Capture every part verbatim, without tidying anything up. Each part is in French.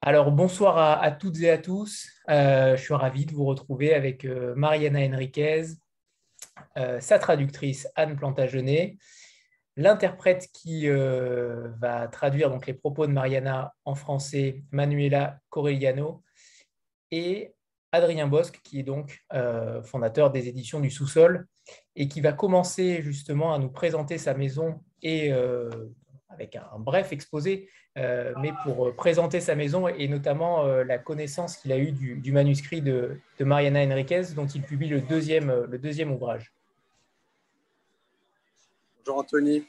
Alors, bonsoir à, à toutes et à tous. Euh, je suis ravi de vous retrouver avec euh, Mariana Enriquez, euh, sa traductrice Anne Plantagenet, l'interprète qui euh, va traduire donc les propos de Mariana en français, Manuela Corelliano, et Adrien Bosque, qui est donc euh, fondateur des éditions du Sous-Sol et qui va commencer justement à nous présenter sa maison et euh, avec un, un bref exposé, euh, mais pour euh, présenter sa maison et notamment euh, la connaissance qu'il a eue du, du manuscrit de, de Mariana Enriquez, dont il publie le deuxième, euh, le deuxième ouvrage. Bonjour Anthony,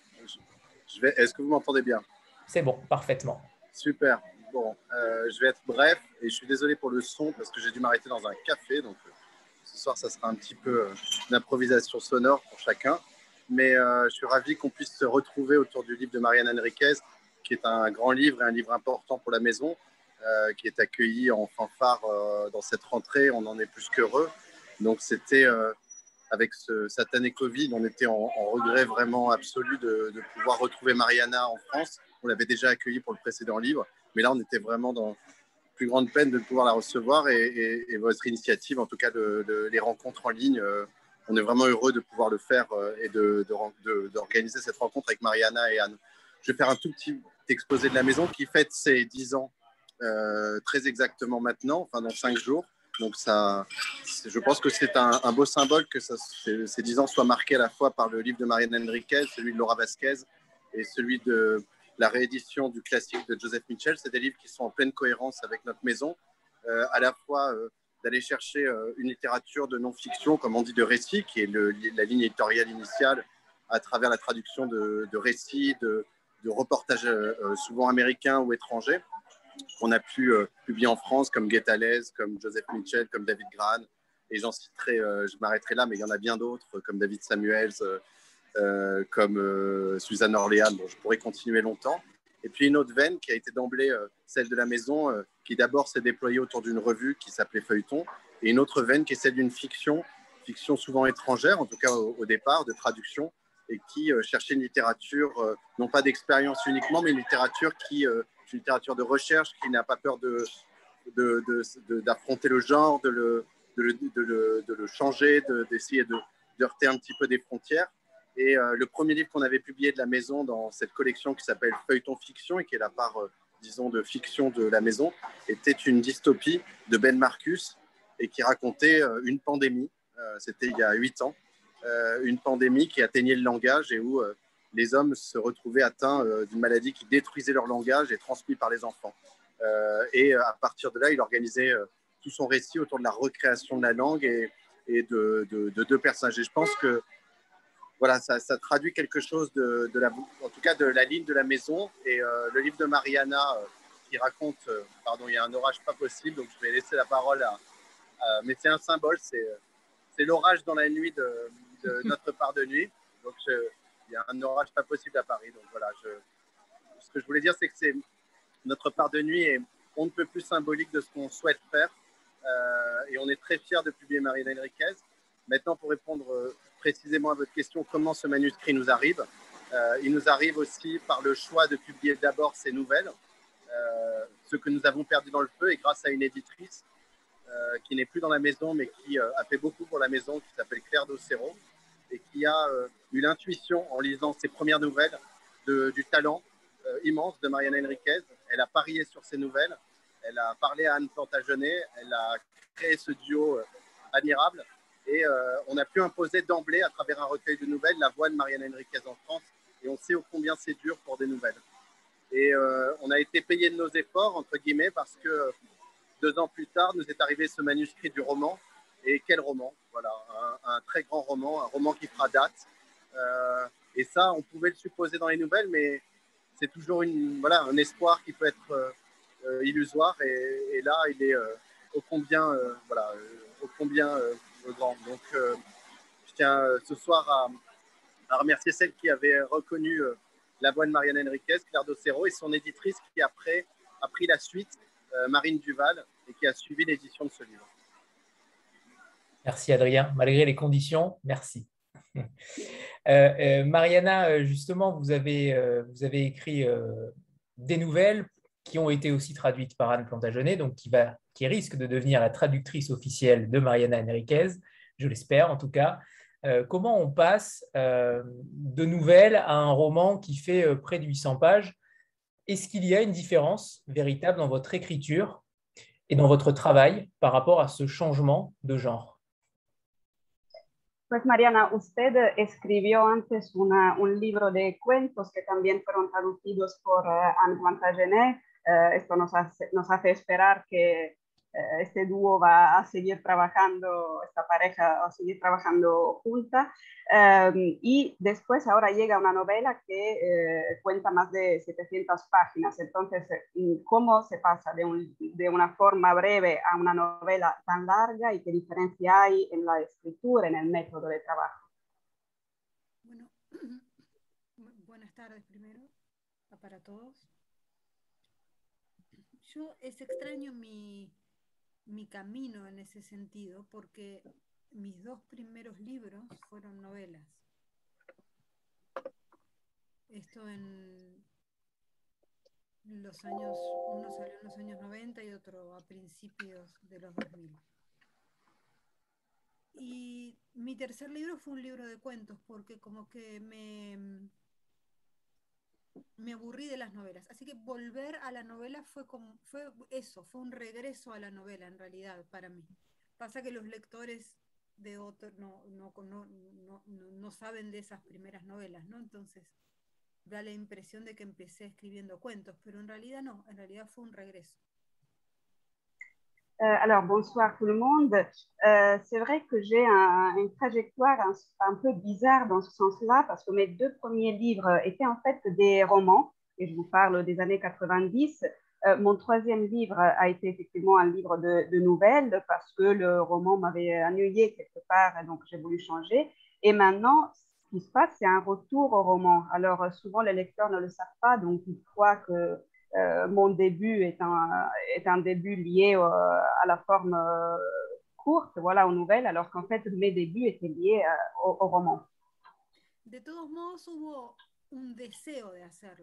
je vais... est-ce que vous m'entendez bien? C'est bon, parfaitement. Super. Bon, euh, je vais être bref et je suis désolé pour le son parce que j'ai dû m'arrêter dans un café. Donc euh, ce soir, ça sera un petit peu euh, d'improvisation sonore pour chacun. Mais euh, je suis ravi qu'on puisse se retrouver autour du livre de Mariana Enriquez, qui est un grand livre et un livre important pour la maison, euh, qui est accueilli en fanfare euh, dans cette rentrée. On en est plus qu'heureux. Donc c'était... Euh, avec ce satané Covid, on était en, en regret vraiment absolu de, de pouvoir retrouver Mariana en France. On l'avait déjà accueillie pour le précédent livre, mais là, on était vraiment dans plus grande peine de pouvoir la recevoir et, et, et votre initiative, en tout cas de, de, les rencontres en ligne, euh, on est vraiment heureux de pouvoir le faire euh, et de, de, d'organiser cette rencontre avec Mariana et Anne. Je vais faire un tout petit exposé de la maison qui fête ses dix ans euh, très exactement maintenant, enfin dans cinq jours. Donc ça, je pense que c'est un, un beau symbole que ça, ces dix ans soient marqués à la fois par le livre de Mariana Enriquez, celui de Laura Vasquez et celui de la réédition du classique de Joseph Mitchell. C'est des livres qui sont en pleine cohérence avec notre maison, euh, à la fois euh, d'aller chercher euh, une littérature de non-fiction, comme on dit de récit, qui est le, la ligne éditoriale initiale, à travers la traduction de, de récits, de, de reportages euh, souvent américains ou étrangers, qu'on a pu euh, publier en France, comme Guettalez, comme Joseph Mitchell, comme David Gran. Et j'en citerai, euh, je m'arrêterai là, mais il y en a bien d'autres, comme David Samuels, euh, euh, comme euh, Suzanne Orléans. Bon, je pourrais continuer longtemps. Et puis une autre veine qui a été d'emblée euh, celle de la maison, euh, qui d'abord s'est déployée autour d'une revue qui s'appelait Feuilleton, et une autre veine qui est celle d'une fiction, fiction souvent étrangère, en tout cas au, au départ, de traduction, et qui euh, cherchait une littérature, euh, non pas d'expérience uniquement, mais une littérature qui... Euh, une littérature de recherche qui n'a pas peur de, de, de, de, d'affronter le genre, de le, de le, de le, de le changer, de, d'essayer de, de heurter un petit peu des frontières. Et euh, le premier livre qu'on avait publié de la maison dans cette collection qui s'appelle Feuilleton Fiction et qui est la part, euh, disons, de fiction de la maison, était une dystopie de Ben Marcus et qui racontait euh, une pandémie. Euh, c'était il y a huit ans. Euh, une pandémie qui atteignait le langage et où... Euh, les hommes se retrouvaient atteints euh, d'une maladie qui détruisait leur langage et transmis par les enfants. Euh, et à partir de là, il organisait euh, tout son récit autour de la recréation de la langue et, et de, de, de deux personnages. Et je pense que voilà, ça, ça traduit quelque chose de, de la, en tout cas de la ligne de la maison. Et euh, le livre de Mariana euh, qui raconte, euh, pardon, il y a un orage pas possible, donc je vais laisser la parole à, à mais c'est un symbole, c'est, c'est l'orage dans la nuit de, de notre part de nuit. Donc je, il y a un orage pas possible à Paris. Donc voilà, je... ce que je voulais dire, c'est que c'est notre part de nuit et on ne peut plus symbolique de ce qu'on souhaite faire. Euh, et on est très fiers de publier Mariana Enriquez. Maintenant, pour répondre euh, précisément à votre question, comment ce manuscrit nous arrive, euh, il nous arrive aussi par le choix de publier d'abord ces nouvelles, euh, ce que nous avons perdu dans le feu, et grâce à une éditrice euh, qui n'est plus dans la maison, mais qui euh, a fait beaucoup pour la maison, qui s'appelle Claire Docero, et qui a euh, eu l'intuition, en lisant ses premières nouvelles, de, du talent euh, immense de Mariana Enriquez. Elle a parié sur ses nouvelles, elle a parlé à Anne Plantagenet, elle a créé ce duo euh, admirable, et euh, on a pu imposer d'emblée, à travers un recueil de nouvelles, la voix de Mariana Enriquez en France, et on sait ô combien c'est dur pour des nouvelles. Et euh, on a été payé de nos efforts, entre guillemets, parce que deux ans plus tard, nous est arrivé ce manuscrit du roman. Et quel roman, voilà, un, un très grand roman, un roman qui fera date. Euh, et ça, on pouvait le supposer dans les nouvelles, mais c'est toujours une, voilà, un espoir qui peut être euh, illusoire. Et, et là, il est euh, ô combien, euh, voilà, euh, ô combien euh, grand. Donc, euh, je tiens euh, ce soir à, à remercier celle qui avait reconnu euh, la voix de Mariana Enriquez, Claire Docero, et son éditrice qui après a pris la suite, euh, Marine Duval, et qui a suivi l'édition de ce livre. Merci Adrien, malgré les conditions, merci. Euh, euh, Mariana, justement, vous avez, euh, vous avez écrit euh, des nouvelles qui ont été aussi traduites par Anne Plantagenet, donc qui, va, qui risque de devenir la traductrice officielle de Mariana Enriquez, je l'espère en tout cas. Euh, comment on passe euh, de nouvelles à un roman qui fait euh, près de huit cents pages? Est-ce qu'il y a une différence véritable dans votre écriture et dans votre travail par rapport à ce changement de genre? Pues Mariana, usted escribió antes una, un libro de cuentos que también fueron traducidos por uh, Anne Plantagenet. Uh, esto nos hace, nos hace esperar que uh, este dúo va a seguir trabajando, esta pareja va a seguir trabajando junta. Um, y después ahora llega una novela que uh, cuenta más de setecientas páginas. Entonces, ¿cómo se pasa de, un, de una forma breve a una novela tan larga y qué diferencia hay en la escritura, en el método de trabajo? Bueno, buenas tardes primero para todos. Yo es extraño mi, mi camino en ese sentido porque mis dos primeros libros fueron novelas. Esto en los años, uno salió en los años noventa y otro a principios de los dos mil. Y mi tercer libro fue un libro de cuentos porque como que me, me aburrí de las novelas. Así que volver a la novela fue, como, fue eso, fue un regreso a la novela en realidad para mí. Pasa que los lectores de otros no, no, no, no, no saben de esas primeras novelas, ¿no? Entonces da la impresión de que empecé escribiendo cuentos, pero en realidad no, en realidad fue un regreso. Euh, alors, bonsoir tout le monde. Euh, c'est vrai que j'ai un, une trajectoire un, un peu bizarre dans ce sens-là, parce que mes deux premiers livres étaient en fait des romans, et je vous parle des années quatre-vingt-dix. Euh, mon troisième livre a été effectivement un livre de, de nouvelles, parce que le roman m'avait ennuyé quelque part, et donc j'ai voulu changer. Et maintenant, ce qui se passe, c'est un retour au roman. Alors, souvent, les lecteurs ne le savent pas, donc ils croient que Euh, mon début est un, est un début lié euh, à la forme euh, courte, voilà, aux nouvelles, alors qu'en fait, mes débuts étaient liés euh, au, au roman. De todos modos, hubo un deseo de hacerlo.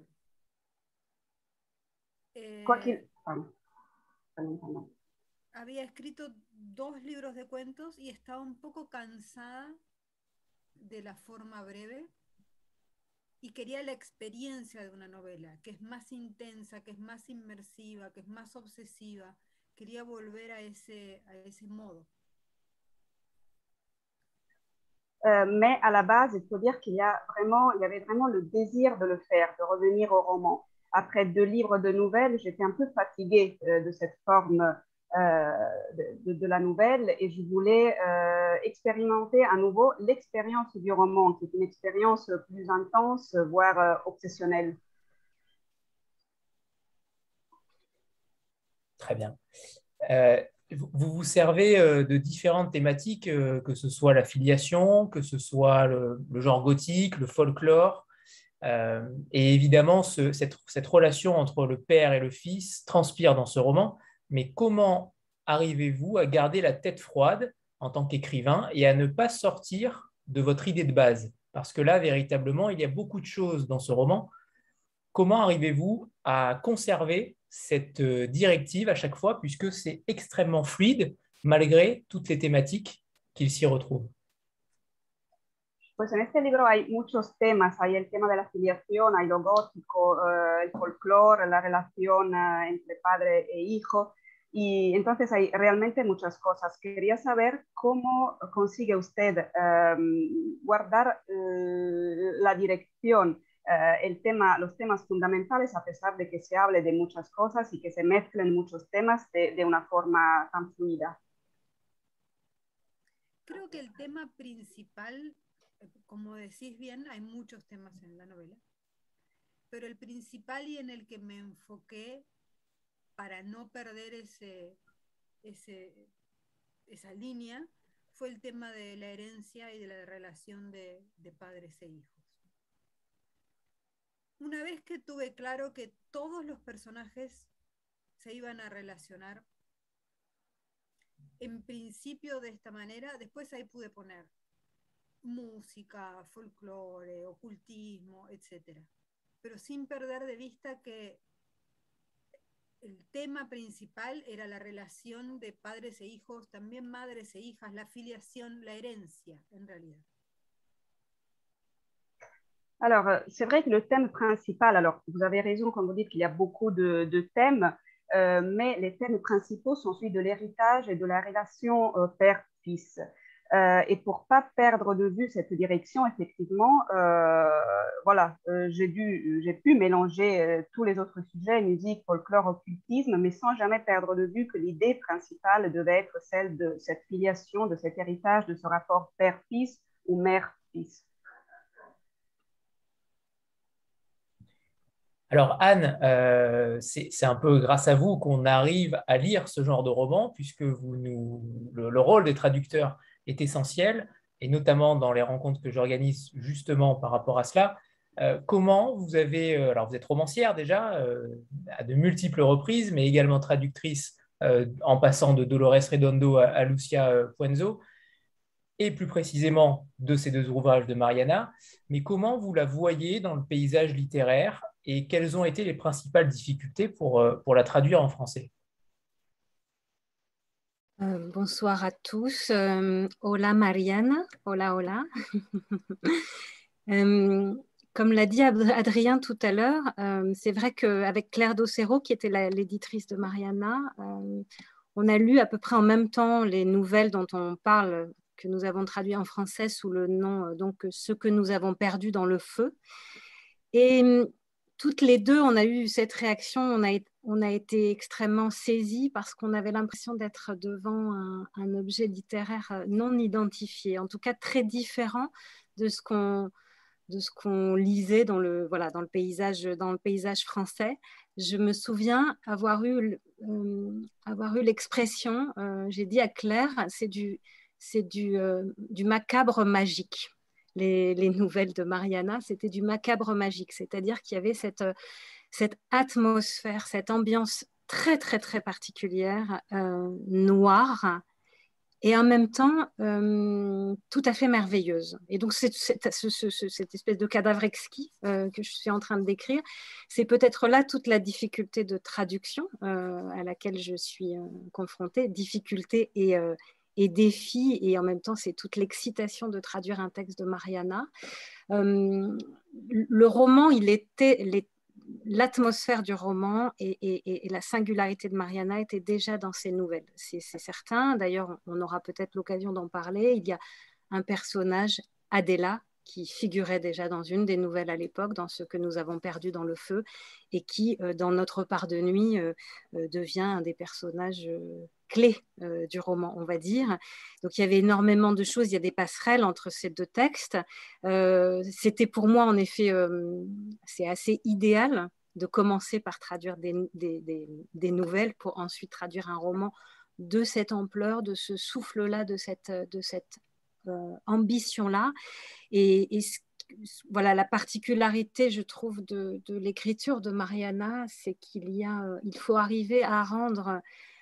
Eh, Quoi qu'il... Pardon. Pardon, pardon. Había escrito dos libros de cuentos y estaba un poco cansada de la forma breve y quería la experiencia de una novela, que es más intensa, que es más inmersiva, que es más obsesiva. Quería volver a ese, a ese modo. Euh, mais à la base, il faut dire qu'il y a vraiment, il y avait vraiment le désir de le faire, de revenir au roman. Après deux livres de nouvelles, j'étais un peu fatiguée euh, de cette forme euh, de, de, de la nouvelle et je voulais euh, expérimenter à nouveau l'expérience du roman, qui est une expérience plus intense, voire euh, obsessionnelle. Très bien. Euh, vous vous servez euh, de différentes thématiques, euh, que ce soit la filiation, que ce soit le, le genre gothique, le folklore. Euh, et évidemment, ce, cette, cette relation entre le père et le fils transpire dans ce roman. Mais comment arrivez-vous à garder la tête froide en tant qu'écrivain et à ne pas sortir de votre idée de base? Parce que là, véritablement, il y a beaucoup de choses dans ce roman. Comment arrivez-vous à conserver cette directive à chaque fois, puisque c'est extrêmement fluide, malgré toutes les thématiques qu'il s'y retrouve? Pues en este libro hay muchos temas, hay el tema de la filiación, hay lo gótico, uh, el folclore, la relación uh, entre padre e hijo, y entonces hay realmente muchas cosas. Quería saber cómo consigue usted um, guardar uh, la dirección, uh, el tema, los temas fundamentales, a pesar de que se hable de muchas cosas y que se mezclen muchos temas de, de una forma tan fluida. Creo que el tema principal, como decís bien, hay muchos temas en la novela, pero el principal y en el que me enfoqué para no perder ese, ese, esa línea fue el tema de la herencia y de la relación de, de padres e hijos. Una vez que tuve claro que todos los personajes se iban a relacionar en principio de esta manera, después ahí pude poner música, folclore, ocultismo, etcétera, pero sin perder de vista que el tema principal era la relación de padres e hijos, también madres e hijas, la filiación, la herencia, en realidad. Alors, euh, c'est vrai que le thème principal, alors vous avez raison quand vous dites qu'il y a beaucoup de, de thèmes, euh, mais les thèmes principaux sont celui de l'héritage et de la relation euh, père-fils. Euh, et pour pas perdre de vue cette direction, effectivement, euh, voilà, euh, j'ai dû, j'ai pu mélanger euh, tous les autres sujets, musique, folklore, occultisme, mais sans jamais perdre de vue que l'idée principale devait être celle de cette filiation, de cet héritage, de ce rapport père-fils ou mère-fils. Alors Anne, euh, c'est c'est un peu grâce à vous qu'on arrive à lire ce genre de roman, puisque vous nous, le, le rôle des traducteurs est essentiel, et notamment dans les rencontres que j'organise justement par rapport à cela. Euh, comment vous avez, euh, alors vous êtes romancière déjà, euh, à de multiples reprises, mais également traductrice euh, en passant de Dolores Redondo à, à Lucia euh, Puenzo, et plus précisément de ces deux ouvrages de Mariana, mais comment vous la voyez dans le paysage littéraire et quelles ont été les principales difficultés pour, euh, pour la traduire en français? Euh, bonsoir à tous. Euh, hola Mariana. Hola, hola. euh, comme l'a dit Adrien tout à l'heure, euh, c'est vrai qu'avec Claire Docero, qui était l'éditrice de Mariana, euh, on a lu à peu près en même temps les nouvelles dont on parle, que nous avons traduit en français sous le nom, donc, Ce que nous avons perdu dans le feu. Et toutes les deux, on a eu cette réaction, on a, on a été extrêmement saisis parce qu'on avait l'impression d'être devant un, un objet littéraire non identifié, en tout cas très différent de ce qu'on de ce qu'on lisait dans le, voilà, dans le paysage, dans le paysage français. Je me souviens avoir eu, euh, avoir eu l'expression, euh, j'ai dit à Claire, c'est du, c'est du, euh, du macabre magique. Les, les nouvelles de Mariana, c'était du macabre magique, c'est-à-dire qu'il y avait cette, cette atmosphère, cette ambiance très, très, très particulière, euh, noire, et en même temps euh, tout à fait merveilleuse. Et donc c'est, c'est, ce, ce, cette espèce de cadavre exquis euh, que je suis en train de décrire, c'est peut-être là toute la difficulté de traduction euh, à laquelle je suis euh, confrontée, difficulté et, euh, et défi, et en même temps c'est toute l'excitation de traduire un texte de Mariana. Euh, le roman, il était... Les, l'atmosphère du roman et, et, et la singularité de Mariana était déjà dans ses nouvelles, c'est, c'est certain. D'ailleurs, on aura peut-être l'occasion d'en parler. Il y a un personnage, Adela, qui figurait déjà dans une des nouvelles à l'époque, dans Ce que nous avons perdu dans le feu, et qui, euh, dans Notre part de nuit, euh, euh, devient un des personnages euh, clés euh, du roman, on va dire. Donc il y avait énormément de choses, il y a des passerelles entre ces deux textes. Euh, c'était pour moi, en effet, euh, c'est assez idéal de commencer par traduire des, des, des, des nouvelles pour ensuite traduire un roman de cette ampleur, de ce souffle-là, de cette, de cette euh, ambition-là. Et, et voilà, la particularité, je trouve, de, de l'écriture de Mariana, c'est qu'il y a, euh, il faut arriver à rendre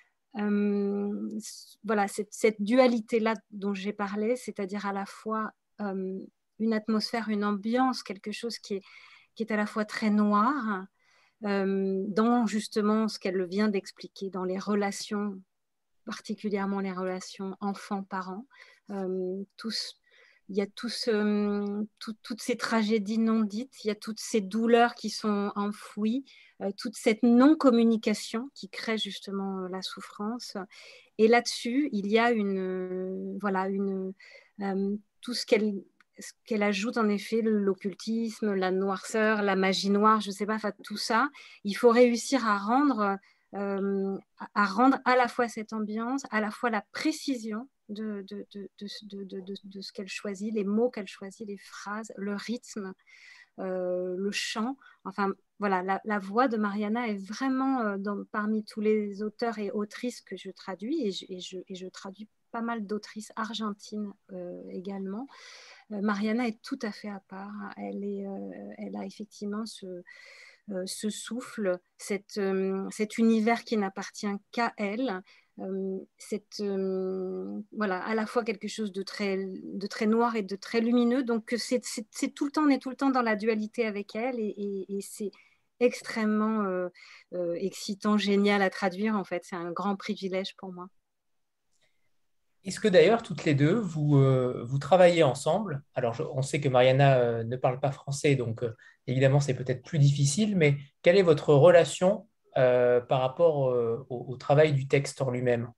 euh, voilà, cette, cette dualité-là dont j'ai parlé, c'est-à-dire à la fois euh, une atmosphère, une ambiance, quelque chose qui est, qui est à la fois très noir, euh, dans justement ce qu'elle vient d'expliquer, dans les relations, particulièrement les relations enfants-parents, euh, tous. Il y a tout ce, tout, toutes ces tragédies non dites, il y a toutes ces douleurs qui sont enfouies, euh, toute cette non-communication qui crée justement euh, la souffrance. Et là-dessus, il y a une, euh, voilà, une, euh, tout ce qu'elle, ce qu'elle ajoute en effet, l'occultisme, la noirceur, la magie noire, je ne sais pas, enfin, tout ça, il faut réussir à rendre, euh, à rendre à la fois cette ambiance, à la fois la précision De, de, de, de, de, de, de ce qu'elle choisit, les mots qu'elle choisit, les phrases, le rythme, euh, le chant. Enfin, voilà, la, la voix de Mariana est vraiment euh, dans, parmi tous les auteurs et autrices que je traduis, et je, et je, et je traduis pas mal d'autrices argentines euh, également. Euh, Mariana est tout à fait à part. Elle, est, euh, elle a effectivement ce, euh, ce souffle, cette, euh, cet univers qui n'appartient qu'à elle. Euh, cette, euh, voilà, à la fois quelque chose de très, de très noir et de très lumineux. Donc c'est, c'est, c'est tout le temps, on est tout le temps dans la dualité avec elle, et, et, et c'est, extrêmement euh, euh, excitant, génial à traduire. En fait, c'est un grand privilège pour moi. Est-ce que d'ailleurs, toutes les deux, vous, euh, vous travaillez ensemble? Alors, je- on sait que Mariana euh, ne parle pas français, donc euh, évidemment, c'est peut-être plus difficile, mais quelle est votre relation euh, par rapport euh, au, au travail du texte en lui-même?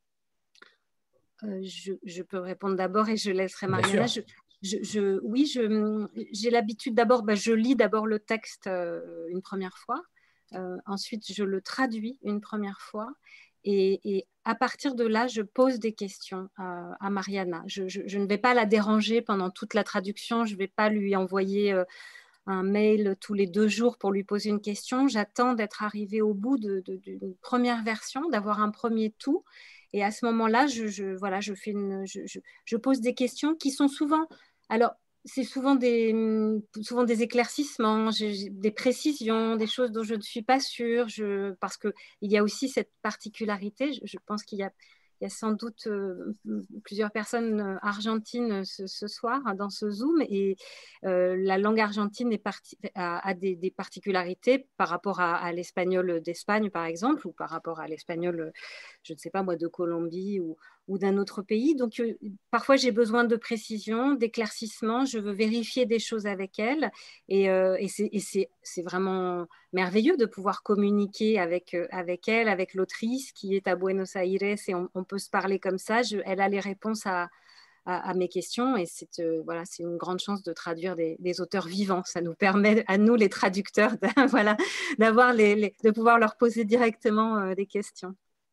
Euh, je, je peux répondre d'abord et je laisserai Bien Mariana. sûr. Je, je, je, oui, je, j'ai l'habitude d'abord, bah, je lis d'abord le texte euh, une première fois. Euh, ensuite, je le traduis une première fois. Et, et à partir de là, je pose des questions euh, à Mariana. Je, je, je ne vais pas la déranger pendant toute la traduction. Je ne vais pas lui envoyer euh, un mail tous les deux jours pour lui poser une question. J'attends d'être arrivée au bout de, de, d'une première version, d'avoir un premier tout. Et à ce moment-là, je, je, voilà, je, fais une, je, je, je pose des questions qui sont souvent... Alors, c'est souvent des, souvent des éclaircissements, j'ai des précisions, des choses dont je ne suis pas sûre, je, parce qu'il y a aussi cette particularité. Je, je pense qu'il y a, il y a sans doute euh, plusieurs personnes argentines ce, ce soir dans ce Zoom, et euh, la langue argentine est parti, a, a des, des, particularités par rapport à, à l'espagnol d'Espagne, par exemple, ou par rapport à l'espagnol, je ne sais pas moi, de Colombie ou, ou d'un autre pays. Donc, euh, parfois, j'ai besoin de précision, d'éclaircissement. Je veux vérifier des choses avec elle. Et, euh, et c'est vraiment merveilleux de pouvoir communiquer avec, euh, avec elle, avec l'autrice qui est à Buenos Aires, et on, on peut se parler comme ça. Je, elle a les réponses à, à, à mes questions, et c'est euh, voilà, c'est une grande chance de traduire des, des auteurs vivants. Ça nous permet, à nous les traducteurs, de, voilà, d'avoir les, les, de pouvoir leur poser directement euh, des questions.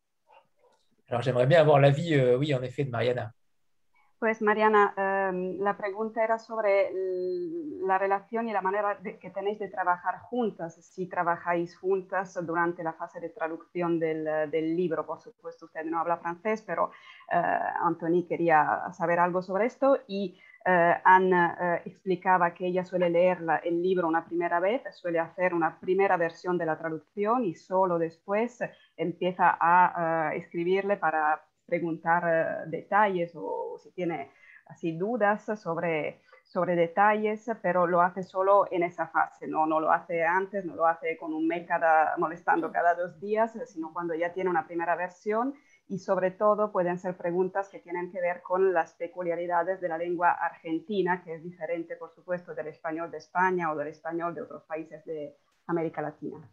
Alors, j'aimerais bien avoir l'avis, euh, oui, en effet, de Mariana. Pues Mariana, eh, la pregunta era sobre la relación y la manera de, que tenéis de trabajar juntas, si trabajáis juntas durante la fase de traducción del, del libro. Por supuesto, usted no habla francés, pero eh, Anthony quería saber algo sobre esto, y eh, Anne eh, explicaba que ella suele leer la, el libro una primera vez, suele hacer una primera versión de la traducción y solo después empieza a uh, escribirle para preguntar uh, detalles o si tiene así dudas sobre, sobre detalles, pero lo hace solo en esa fase, ¿no? No lo hace antes, no lo hace con un mail cada, molestando cada dos días, sino cuando ya tiene una primera versión, y sobre todo pueden ser preguntas que tienen que ver con las peculiaridades de la lengua argentina, que es diferente, por supuesto, del español de España o del español de otros países de América Latina.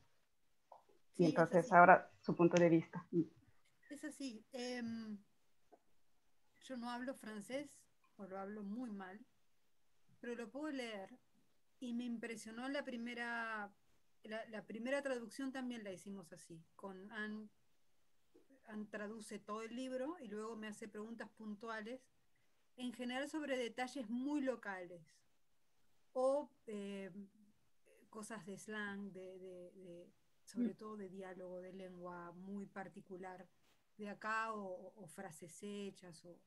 Sí, y entonces es ahora su punto de vista. Es así. Eh, yo no hablo francés, o lo hablo muy mal, pero lo puedo leer. Y me impresionó la primera, la, la primera traducción también la hicimos así, con Anne, Anne traduce todo el libro y luego me hace preguntas puntuales, en general sobre detalles muy locales, o eh, cosas de slang, de, de, de, sobre todo de diálogo, de lengua muy particular de acá, o, o frases hechas, o,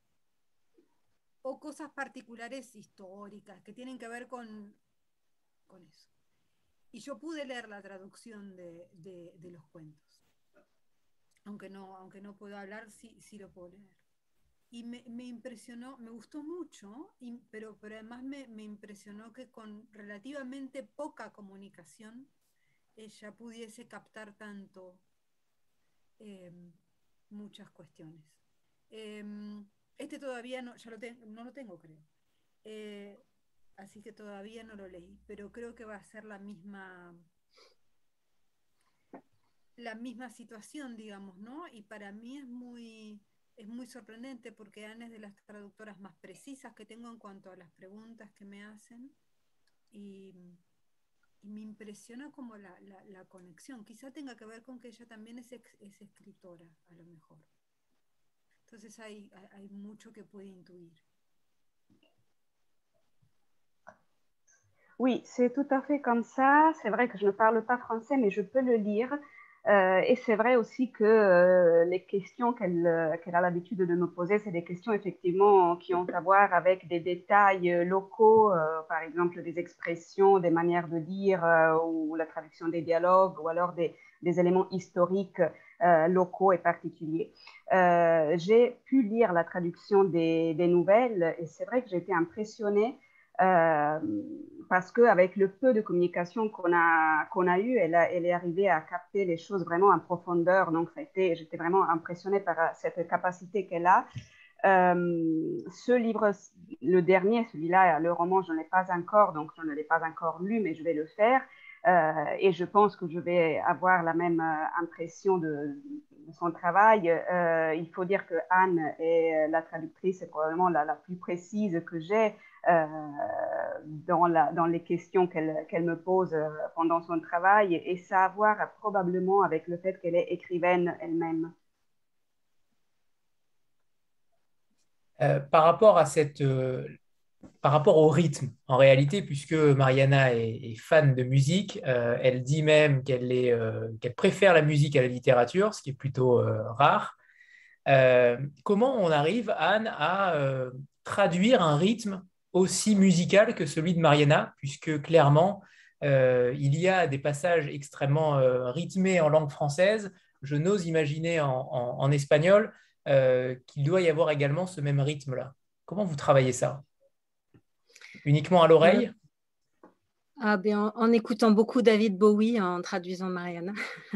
o cosas particulares históricas que tienen que ver con, con eso. Y yo pude leer la traducción de, de, de los cuentos. Aunque no, aunque no puedo hablar, sí, sí lo puedo leer. Y me, me impresionó, me gustó mucho, y, pero, pero además me, me impresionó que con relativamente poca comunicación ella pudiese captar tanto eh, muchas cuestiones. Eh, este todavía no, ya lo te, no lo tengo, creo. Eh, así que todavía no lo leí, pero creo que va a ser la misma la misma situación, digamos, ¿no? Y para mí es muy, es muy sorprendente porque Anne es de las traductoras más precisas que tengo en cuanto a las preguntas que me hacen, y, y me impresiona como la, la, la conexión. Quizá tenga que ver con que ella también es, ex, es escritora, a lo mejor. Entonces hay, hay mucho que puede intuir. Oui, c'est tout à fait comme ça. C'est vrai que je ne parle pas français, mais je peux le lire. Euh, et c'est vrai aussi que euh, les questions qu'elle euh, qu'elle a l'habitude de me poser, c'est des questions effectivement qui ont à voir avec des détails locaux, euh, par exemple des expressions, des manières de dire, euh, ou la traduction des dialogues, ou alors des, des éléments historiques euh, locaux et particuliers. Euh, j'ai pu lire la traduction des, des nouvelles, et c'est vrai que j'ai été impressionnée Euh, parce qu'avec le peu de communication qu'on a, qu'on a eu, elle, a, elle est arrivée à capter les choses vraiment en profondeur. Donc, ça a été, j'étais vraiment impressionnée par cette capacité qu'elle a. Euh, ce livre, le dernier, celui-là, le roman, je ne l'ai pas encore, donc je ne l'ai pas encore lu, mais je vais le faire. Euh, et je pense que je vais avoir la même euh, impression de, de son travail. Euh, il faut dire que Anne est la traductrice, est probablement la, la plus précise que j'ai euh, dans, la, dans les questions qu'elle qu'elle me pose pendant son travail, et ça a à voir probablement avec le fait qu'elle est écrivaine elle-même. Euh, par rapport à cette, euh, par rapport au rythme, en réalité, puisque Mariana est, est fan de musique, euh, elle dit même qu'elle est, euh, qu'elle préfère la musique à la littérature, ce qui est plutôt euh, rare. Euh, comment on arrive, Anne, à euh, traduire un rythme aussi musical que celui de Mariana, puisque clairement, euh, il y a des passages extrêmement euh, rythmés en langue française. Je n'ose imaginer en, en- en espagnol euh, qu'il doit y avoir également ce même rythme-là. Comment vous travaillez ça? Uniquement à Euh, l'oreille? ah ben, en, en écoutant beaucoup David Bowie, en traduisant Mariana.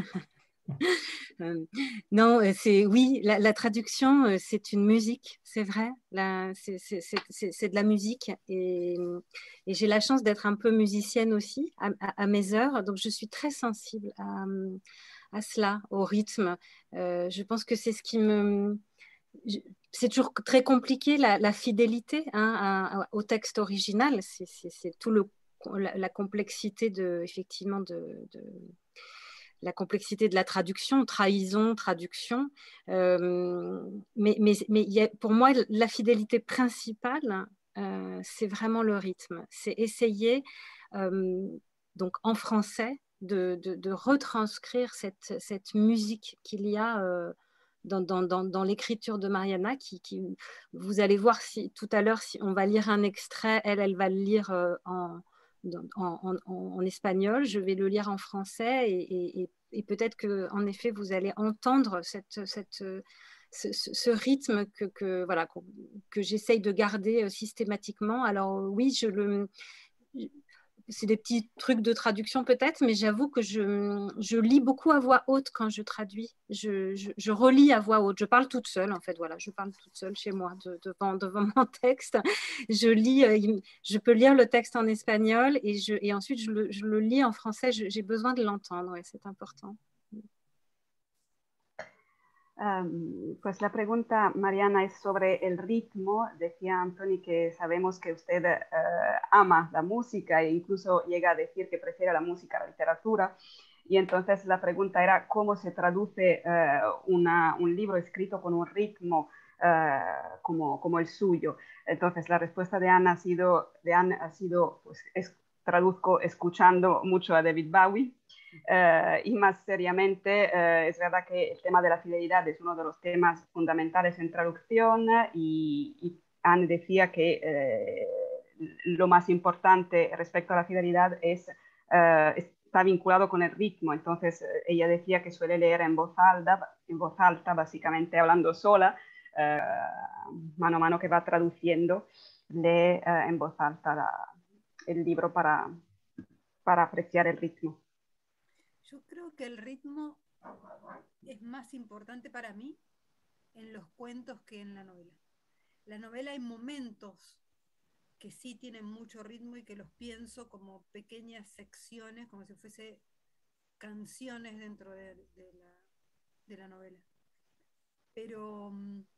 Euh, non, euh, c'est oui, la, la traduction, euh, c'est une musique, c'est vrai. La- C'est c'est- c'est- c'est- c'est de la musique et, et j'ai la chance d'être un peu musicienne aussi à, à- à mes heures, donc je suis très sensible à, à cela, au rythme. Euh, je pense que c'est ce qui me... je- C'est toujours très compliqué la, la fidélité hein, à- à- au texte original. C'est c'est- c'est tout le la, la complexité de effectivement de, de la complexité de la traduction, trahison, traduction. Euh, mais mais, mais il y a, pour moi, la fidélité principale, euh, c'est vraiment le rythme. C'est essayer, euh, donc en français, de, de, de retranscrire cette, cette musique qu'il y a euh, dans, dans, dans, dans l'écriture de Mariana. Qui, qui, vous allez voir si, tout à l'heure, si on va lire un extrait, elle, elle va le lire euh, en en, en, en, espagnol, je vais le lire en français et, et, et peut-être qu'en effet, vous allez entendre cette, cette, ce, ce rythme que, que, voilà, que, que j'essaye de garder systématiquement. Alors oui, je le... C'est des petits trucs de traduction peut-être, mais j'avoue que je, je lis beaucoup à voix haute quand je traduis. Je, je, je relis à voix haute. Je parle toute seule, en fait. Voilà, je parle toute seule chez moi de, devant, devant mon texte. Je lis, je peux lire le texte en espagnol et, je, et ensuite je le, je le lis en français. J'ai besoin de l'entendre, ouais, c'est important. Um, pues la pregunta, Mariana, es sobre el ritmo. Decía Anthony que sabemos que usted uh, ama la música e incluso llega a decir que prefiere la música a la literatura. Y entonces la pregunta era cómo se traduce uh, una, un libro escrito con un ritmo uh, como, como el suyo. Entonces la respuesta de Anne ha sido, de Anne ha sido pues, es, traduzco escuchando mucho a David Bowie. Uh, y más seriamente, uh, es verdad que el tema de la fidelidad es uno de los temas fundamentales en traducción y, y Anne decía que uh, lo más importante respecto a la fidelidad es, está vinculado con el ritmo. Entonces, ella decía que suele leer en voz alta, en voz alta básicamente hablando sola, mano a mano que va traduciendo, lee en voz alta la, el libro para, para apreciar el ritmo. Yo creo que el ritmo es más importante para mí en los cuentos que en la novela. La novela hay momentos que sí tienen mucho ritmo y que los pienso como pequeñas secciones, como si fuese canciones dentro de, de, la, de la novela. Pero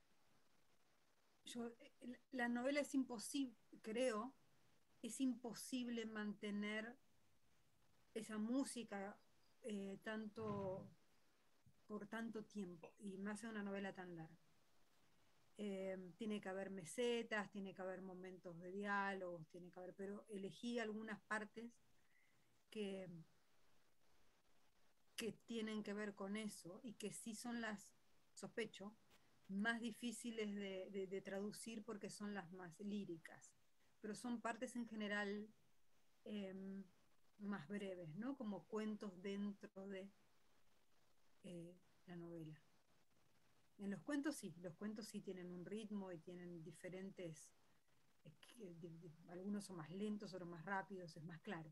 yo, la novela es imposible, creo, es imposible mantener esa música eh, tanto por tanto tiempo, y más en una novela tan larga. Eh, tiene que haber mesetas, tiene que haber momentos de diálogos, tiene que haber, pero elegí algunas partes que, que tienen que ver con eso y que sí son las, sospecho, más difíciles de, de, de traducir porque son las más líricas, pero son partes en general eh, más breves, ¿no? Como cuentos dentro de eh, la novela. En los cuentos sí, los cuentos sí tienen un ritmo y tienen diferentes Algunos son más lentos, otros más rápidos, es más claro.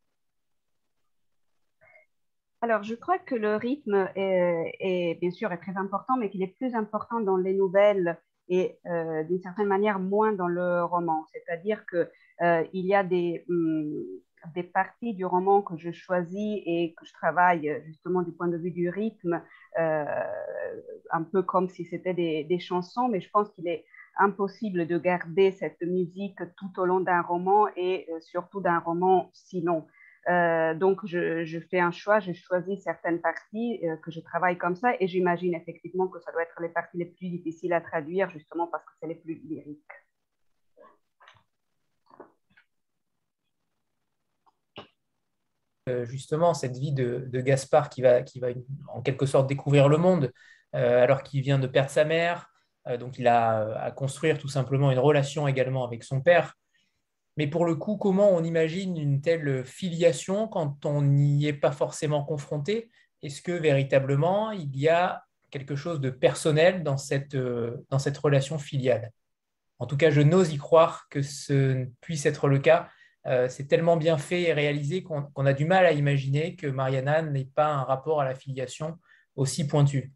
Alors, je crois que le rythme est, est, bien sûr est très important, mais qu'il est plus important dans les nouvelles et euh, d'une certaine manière moins dans le roman. C'est-à-dire que euh, il y a des, hum, des parties du roman que je choisis et que je travaille justement du point de vue du rythme, euh, un peu comme si c'était des, des chansons, mais je pense qu'il est impossible de garder cette musique tout au long d'un roman et euh, surtout d'un roman si long. Euh, donc, je, je, fais un choix, je choisis certaines parties euh, que je travaille comme ça et j'imagine effectivement que ça doit être les parties les plus difficiles à traduire justement parce que c'est les plus lyriques. Euh, justement, cette vie de, de Gaspard qui va, qui va en quelque sorte découvrir le monde euh, alors qu'il vient de perdre sa mère, euh, donc il a à construire tout simplement une relation également avec son père. Mais pour le coup, comment on imagine une telle filiation quand on n'y est pas forcément confronté? Est-ce que véritablement il y a quelque chose de personnel dans cette, euh, dans cette relation filiale? En tout cas, je n'ose y croire que ce puisse être le cas. Euh, c'est tellement bien fait et réalisé qu'on qu'on a du mal à imaginer que Mariana n'ait pas un rapport à la filiation aussi pointu.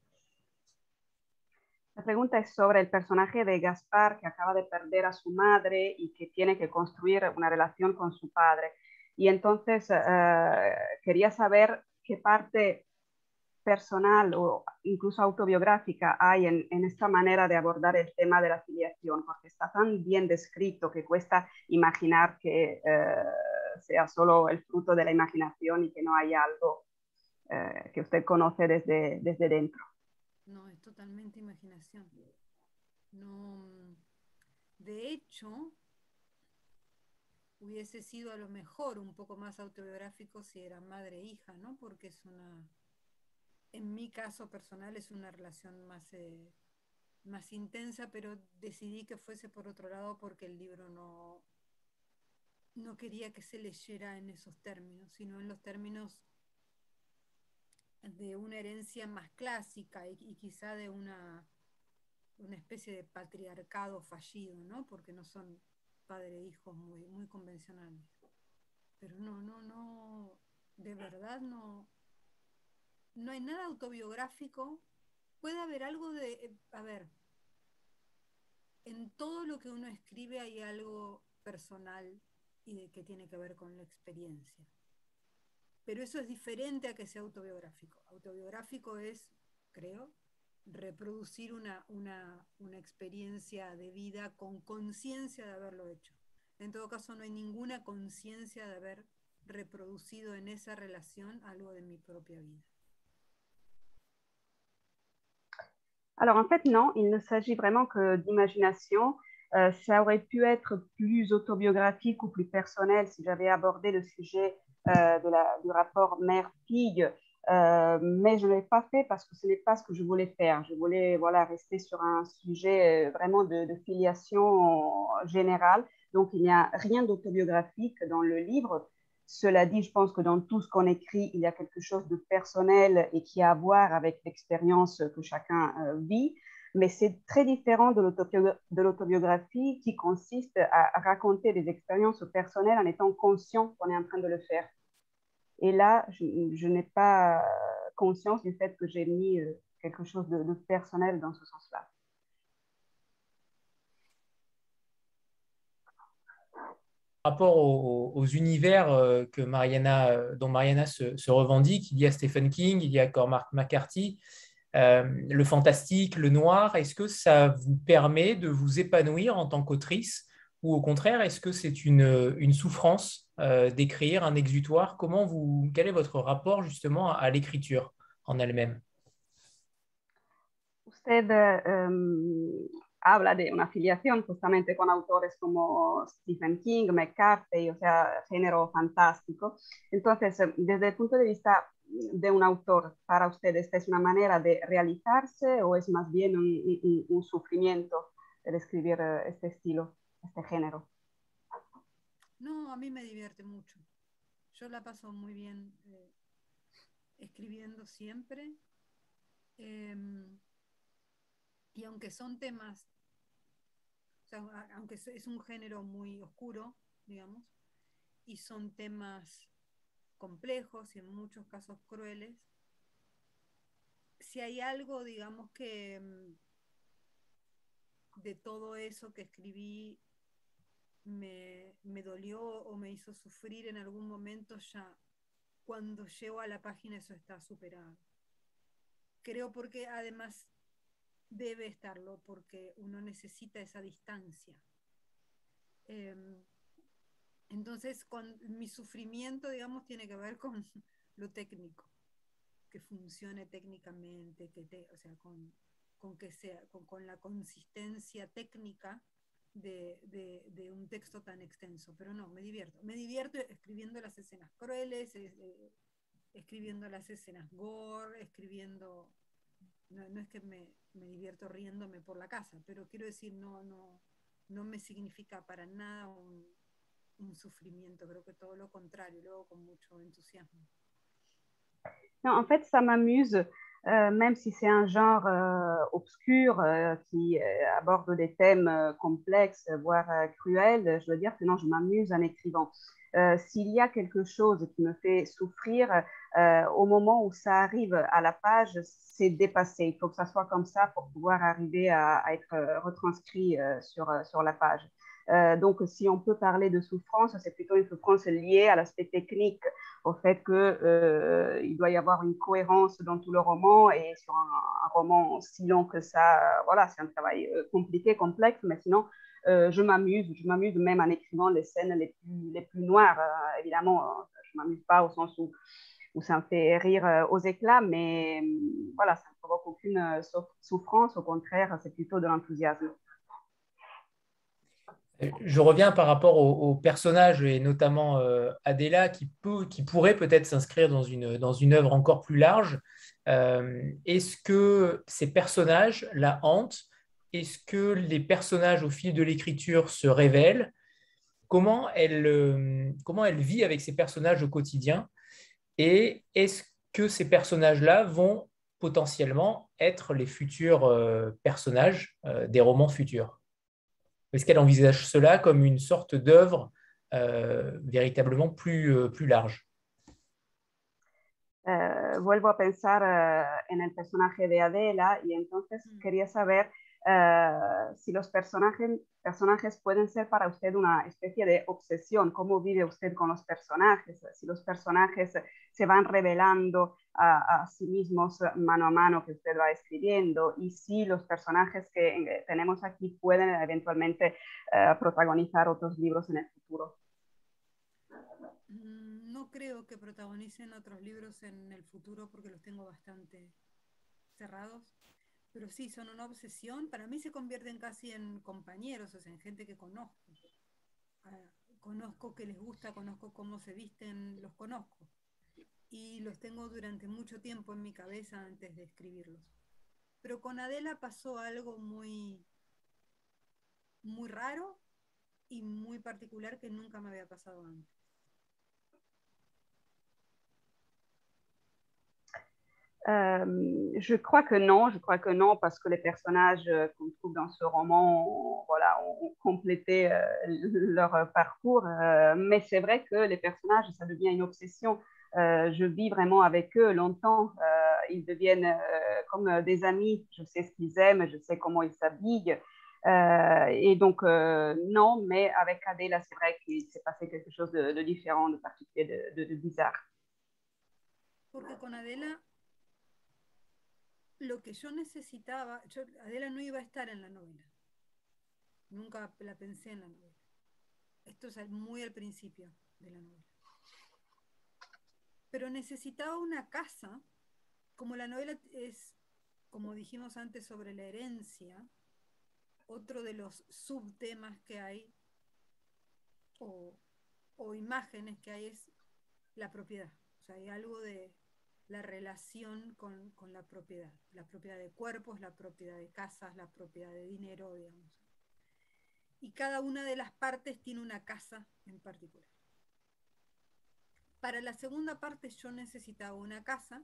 La pregunta es sobre el personaje de Gaspar que acaba de perder a su madre y que tiene que construir una relación con su padre. Y entonces uh, quería saber qué parte personal o incluso autobiográfica hay en, en esta manera de abordar el tema de la filiación, porque está tan bien descrito que cuesta imaginar que uh, sea solo el fruto de la imaginación y que no haya algo uh, que usted conoce desde, desde dentro. No, es totalmente imaginación. No, de hecho, hubiese sido a lo mejor un poco más autobiográfico si era madre e hija, ¿no? Porque es una, en mi caso personal es una relación más, eh, más intensa, pero decidí que fuese por otro lado porque el libro no, no quería que se leyera en esos términos, sino en los términos de una herencia más clásica y, y quizá de una, una especie de patriarcado fallido, ¿no? Porque no son padre e hijos muy, muy convencionales. Pero no, no, no, de verdad no, no hay nada autobiográfico. Puede haber algo de, eh, a ver, en todo lo que uno escribe hay algo personal y de que tiene que ver con la experiencia. Pero eso es diferente a que sea autobiográfico. Autobiográfico es, creo, reproducir una, una, una experiencia de vida con conciencia de haberlo hecho. En todo caso, no hay ninguna conciencia de haber reproducido en esa relación algo de mi propia vida. Alors en fait, non, il ne s'agit vraiment que d'imagination. Euh, ça aurait pu être plus autobiographique ou plus personnel si j'avais abordé le sujet euh, de la, du rapport mère-fille, euh, mais je ne l'ai pas fait parce que ce n'est pas ce que je voulais faire. Je voulais voilà, rester sur un sujet euh, vraiment de, de filiation générale. Donc il n'y a rien d'autobiographique dans le livre. Cela dit, je pense que dans tout ce qu'on écrit, il y a quelque chose de personnel et qui a à voir avec l'expérience que chacun euh, vit. Mais c'est très différent de l'autobiographie qui consiste à raconter des expériences personnelles en étant conscient qu'on est en train de le faire. Et là, je, je n'ai pas conscience du fait que j'ai mis euh, quelque chose de, de personnel dans ce sens-là. Par rapport aux, aux univers euh, que Mariana, euh, dont Mariana se, se revendique, il y a Stephen King, il y a Cormac McCarthy, euh, le fantastique, le noir. Est-ce que ça vous permet de vous épanouir en tant qu'autrice ou au contraire, est-ce que c'est une, une souffrance euh, d'écrire, un exutoire? Comment vous, quel est votre rapport justement à, à l'écriture en elle-même? Usted um, habla de una afiliación justamente con autores como Stephen King, McCarthy, o sea, género fantástico. Entonces, desde el punto de vista de un autor, para usted, ¿esta es una manera de realizarse o es más bien un, un, un sufrimiento el escribir este estilo, este género? No, a mí me divierte mucho. Yo la paso muy bien eh, escribiendo siempre. Eh, y aunque son temas sea, aunque es un género muy oscuro, digamos, y son temas complejos y en muchos casos crueles, si hay algo, digamos, que de todo eso que escribí me, me dolió o me hizo sufrir en algún momento, ya cuando llego a la página eso está superado. Creo porque además debe estarlo, porque uno necesita esa distancia. Eh, entonces, con mi sufrimiento, digamos, tiene que ver con lo técnico, que funcione técnicamente, que te, o sea, con, con que sea, con, con la consistencia técnica de, de, de un texto tan extenso. Pero no, me divierto. Me divierto escribiendo las escenas crueles, eh, escribiendo las escenas gore, escribiendo... No, no es que me, me divierto riéndome por la casa, pero quiero decir, no, no, no me significa para nada un, un sufrimiento, creo que todo lo contrario, luego con mucho entusiasmo. Non, en fait, ça m'amuse, euh, même si c'est un genre euh, obscur euh, qui euh, aborde des thèmes euh, complexes, voire euh, cruels. Je dois dire que non, je m'amuse en écrivant. Euh, s'il y a quelque chose qui me fait souffrir, euh, au moment où ça arrive à la page, c'est dépassé. Il faut que ça soit comme ça pour pouvoir arriver à, à être retranscrit euh, sur, sur la page. Euh, donc, si on peut parler de souffrance, c'est plutôt une souffrance liée à l'aspect technique, au fait qu'il euh, doit y avoir une cohérence dans tout le roman, et sur un, un roman si long que ça, euh, voilà, c'est un travail euh, compliqué, complexe, mais sinon, euh, je m'amuse, je m'amuse même en écrivant les scènes les plus, les plus noires. Euh, évidemment, euh, je ne m'amuse pas au sens où, où ça me fait rire euh, aux éclats, mais euh, voilà, ça ne provoque aucune euh, souffrance, au contraire, c'est plutôt de l'enthousiasme. Je reviens par rapport au, au personnage et notamment euh, Adela qui, peut, qui pourrait peut-être s'inscrire dans une, dans une œuvre encore plus large. Euh, est-ce que ces personnages la hantent? Est-ce que les personnages au fil de l'écriture se révèlent? Comment elle, euh, comment elle vit avec ces personnages au quotidien? Et est-ce que ces personnages-là vont potentiellement être les futurs euh, personnages euh, des romans futurs? Est-ce qu'elle envisage cela comme une sorte d'œuvre euh, véritablement plus, euh, plus large? Uh, vuelvo a pensar uh, en el personaje de Adela, y entonces mm. quería saber uh, si los personajes, personajes pueden ser para usted una especie de obsesión. ¿Cómo vive usted con los personajes? Si los personajes se van revelando a, a sí mismos mano a mano que usted va escribiendo, y si los personajes que tenemos aquí pueden eventualmente uh, protagonizar otros libros en el futuro. No creo que protagonicen otros libros en el futuro porque los tengo bastante cerrados, pero sí, son una obsesión. Para mí se convierten casi en compañeros, o sea, en gente que conozco. Uh, conozco que les gusta, conozco cómo se visten, los conozco. Y los tengo durante mucho tiempo en mi cabeza antes de escribirlos. Pero con Adela pasó algo muy, muy raro y muy particular que nunca me había pasado antes. Euh, je crois que non, je crois que non, parce que les personnages euh, qu'on trouve dans ce roman ont, voilà, ont complété euh, leur parcours, euh, mais c'est vrai que les personnages, ça devient une obsession. Euh, je vis vraiment avec eux longtemps, euh, ils deviennent euh, comme des amis, je sais ce qu'ils aiment, je sais comment ils s'habillent, euh, et donc euh, non, mais avec Adela, c'est vrai qu'il s'est passé quelque chose de, de différent, de particulier, de, de, de bizarre. Porque con Adela lo que yo necesitaba, yo, Adela no iba a estar en la novela, nunca la pensé en la novela. Esto es muy al principio de la novela. Pero necesitaba una casa, como la novela es, como dijimos antes sobre la herencia, otro de los subtemas que hay, o, o imágenes que hay, es la propiedad. O sea, hay algo de la relación con, con la propiedad, la propiedad de cuerpos, la propiedad de casas, la propiedad de dinero, digamos. Y cada una de las partes tiene una casa en particular. Para la segunda parte yo necesitaba una casa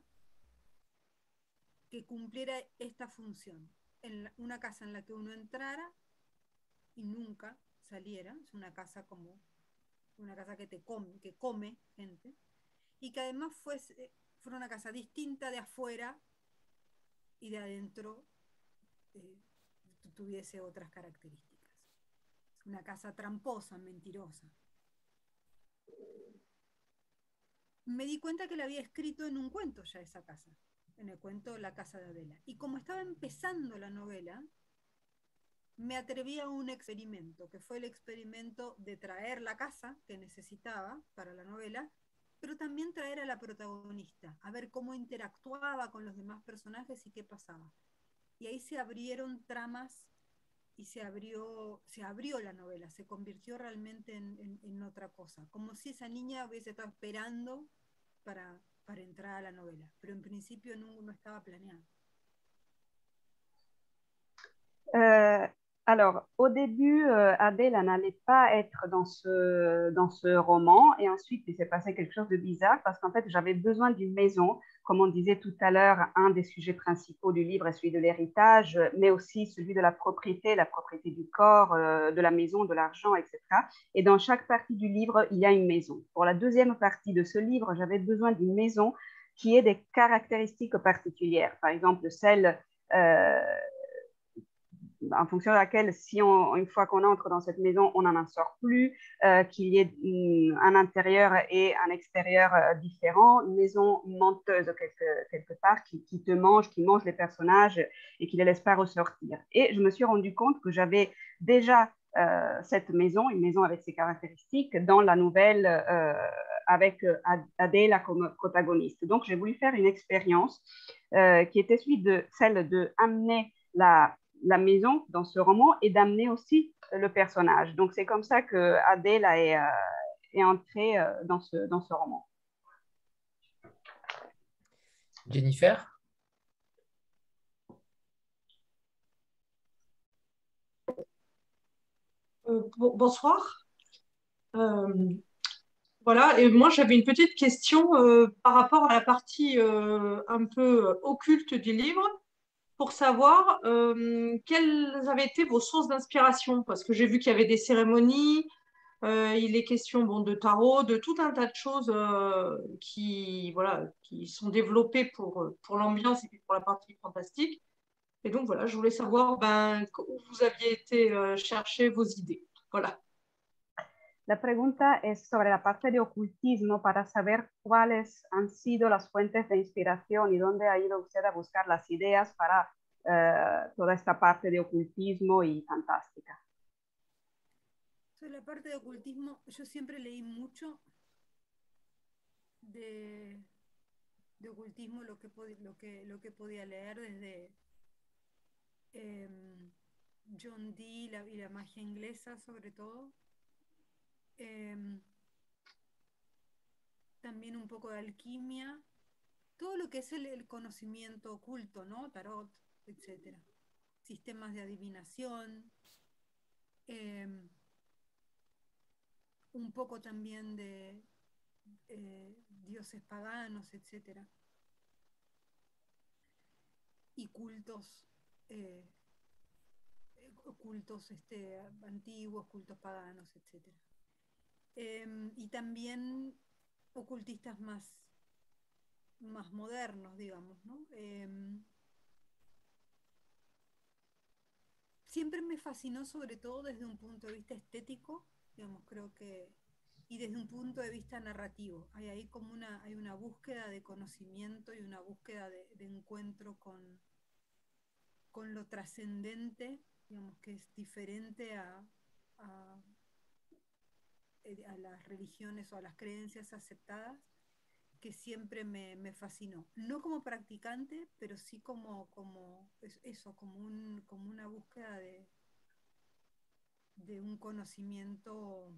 que cumpliera esta función, en la, una casa en la que uno entrara y nunca saliera. Es una casa como una casa que te come, que come gente, y que además fuese, fuera una casa distinta de afuera y de adentro eh, tuviese otras características. Una casa tramposa, mentirosa. Me di cuenta que la había escrito en un cuento ya esa casa, en el cuento La casa de Adela. Y como estaba empezando la novela, me atreví a un experimento, que fue el experimento de traer la casa que necesitaba para la novela, pero también traer a la protagonista, a ver cómo interactuaba con los demás personajes y qué pasaba. Y ahí se abrieron tramas y se abrió, se abrió la novela, se convirtió realmente en, en, en otra cosa, como si esa niña hubiese estado esperando para, para entrar a la novela, pero en principio no, no estaba planeado. Euh, alors, au début, euh, Adèle n'allait pas être dans ce, dans ce roman. Et ensuite, il s'est passé quelque chose de bizarre parce qu'en fait, j'avais besoin d'une maison. Comme on disait tout à l'heure, un des sujets principaux du livre est celui de l'héritage, mais aussi celui de la propriété, la propriété du corps, euh, de la maison, de l'argent, et cetera. Et dans chaque partie du livre, il y a une maison. Pour la deuxième partie de ce livre, j'avais besoin d'une maison qui ait des caractéristiques particulières. Par exemple, celle... Euh, en fonction de laquelle, si on, une fois qu'on entre dans cette maison, on n'en sort plus, euh, qu'il y ait une, un intérieur et un extérieur euh, différent, une maison menteuse quelque, quelque part, qui, qui te mange, qui mange les personnages et qui ne les laisse pas ressortir. Et je me suis rendu compte que j'avais déjà euh, cette maison, une maison avec ses caractéristiques, dans la nouvelle euh, avec Adela comme protagoniste. Donc, j'ai voulu faire une expérience euh, qui était celui de, celle d'amener la la maison dans ce roman et d'amener aussi le personnage. Donc, c'est comme ça que Adela est, euh, est entrée euh, dans, ce, dans ce roman. Jennifer? Euh, bonsoir. Euh, voilà, et moi j'avais une petite question euh, par rapport à la partie euh, un peu occulte du livre, pour savoir euh, quelles avaient été vos sources d'inspiration, parce que j'ai vu qu'il y avait des cérémonies, euh, il est question bon, de tarot, de tout un tas de choses euh, qui, voilà, qui sont développées pour, pour l'ambiance et puis pour la partie fantastique. Et donc voilà, je voulais savoir ben, où vous aviez été euh, chercher vos idées. Voilà. La pregunta es sobre la parte de ocultismo para saber cuáles han sido las fuentes de inspiración y dónde ha ido usted a buscar las ideas para uh, toda esta parte de ocultismo y fantástica. Sobre la parte de ocultismo, yo siempre leí mucho de, de ocultismo, lo que, lo, que, lo que podía leer desde eh, John Dee la, y la magia inglesa sobre todo. Eh, también un poco de alquimia, todo lo que es el, el conocimiento oculto, ¿no? Tarot, etcétera. Sistemas de adivinación, eh, un poco también de eh, dioses paganos, etcétera. Y cultos, eh, cultos este, antiguos, cultos paganos, etcétera. Eh, y también ocultistas más, más modernos, digamos, ¿no? Eh, siempre me fascinó, sobre todo desde un punto de vista estético, digamos, creo que, y desde un punto de vista narrativo. Hay ahí como una, hay una búsqueda de conocimiento y una búsqueda de, de encuentro con, con lo trascendente, digamos, que es diferente a, a a las religiones o a las creencias aceptadas, que siempre me, me fascinó. No como practicante, pero sí como, como eso, como, un, como una búsqueda de, de un conocimiento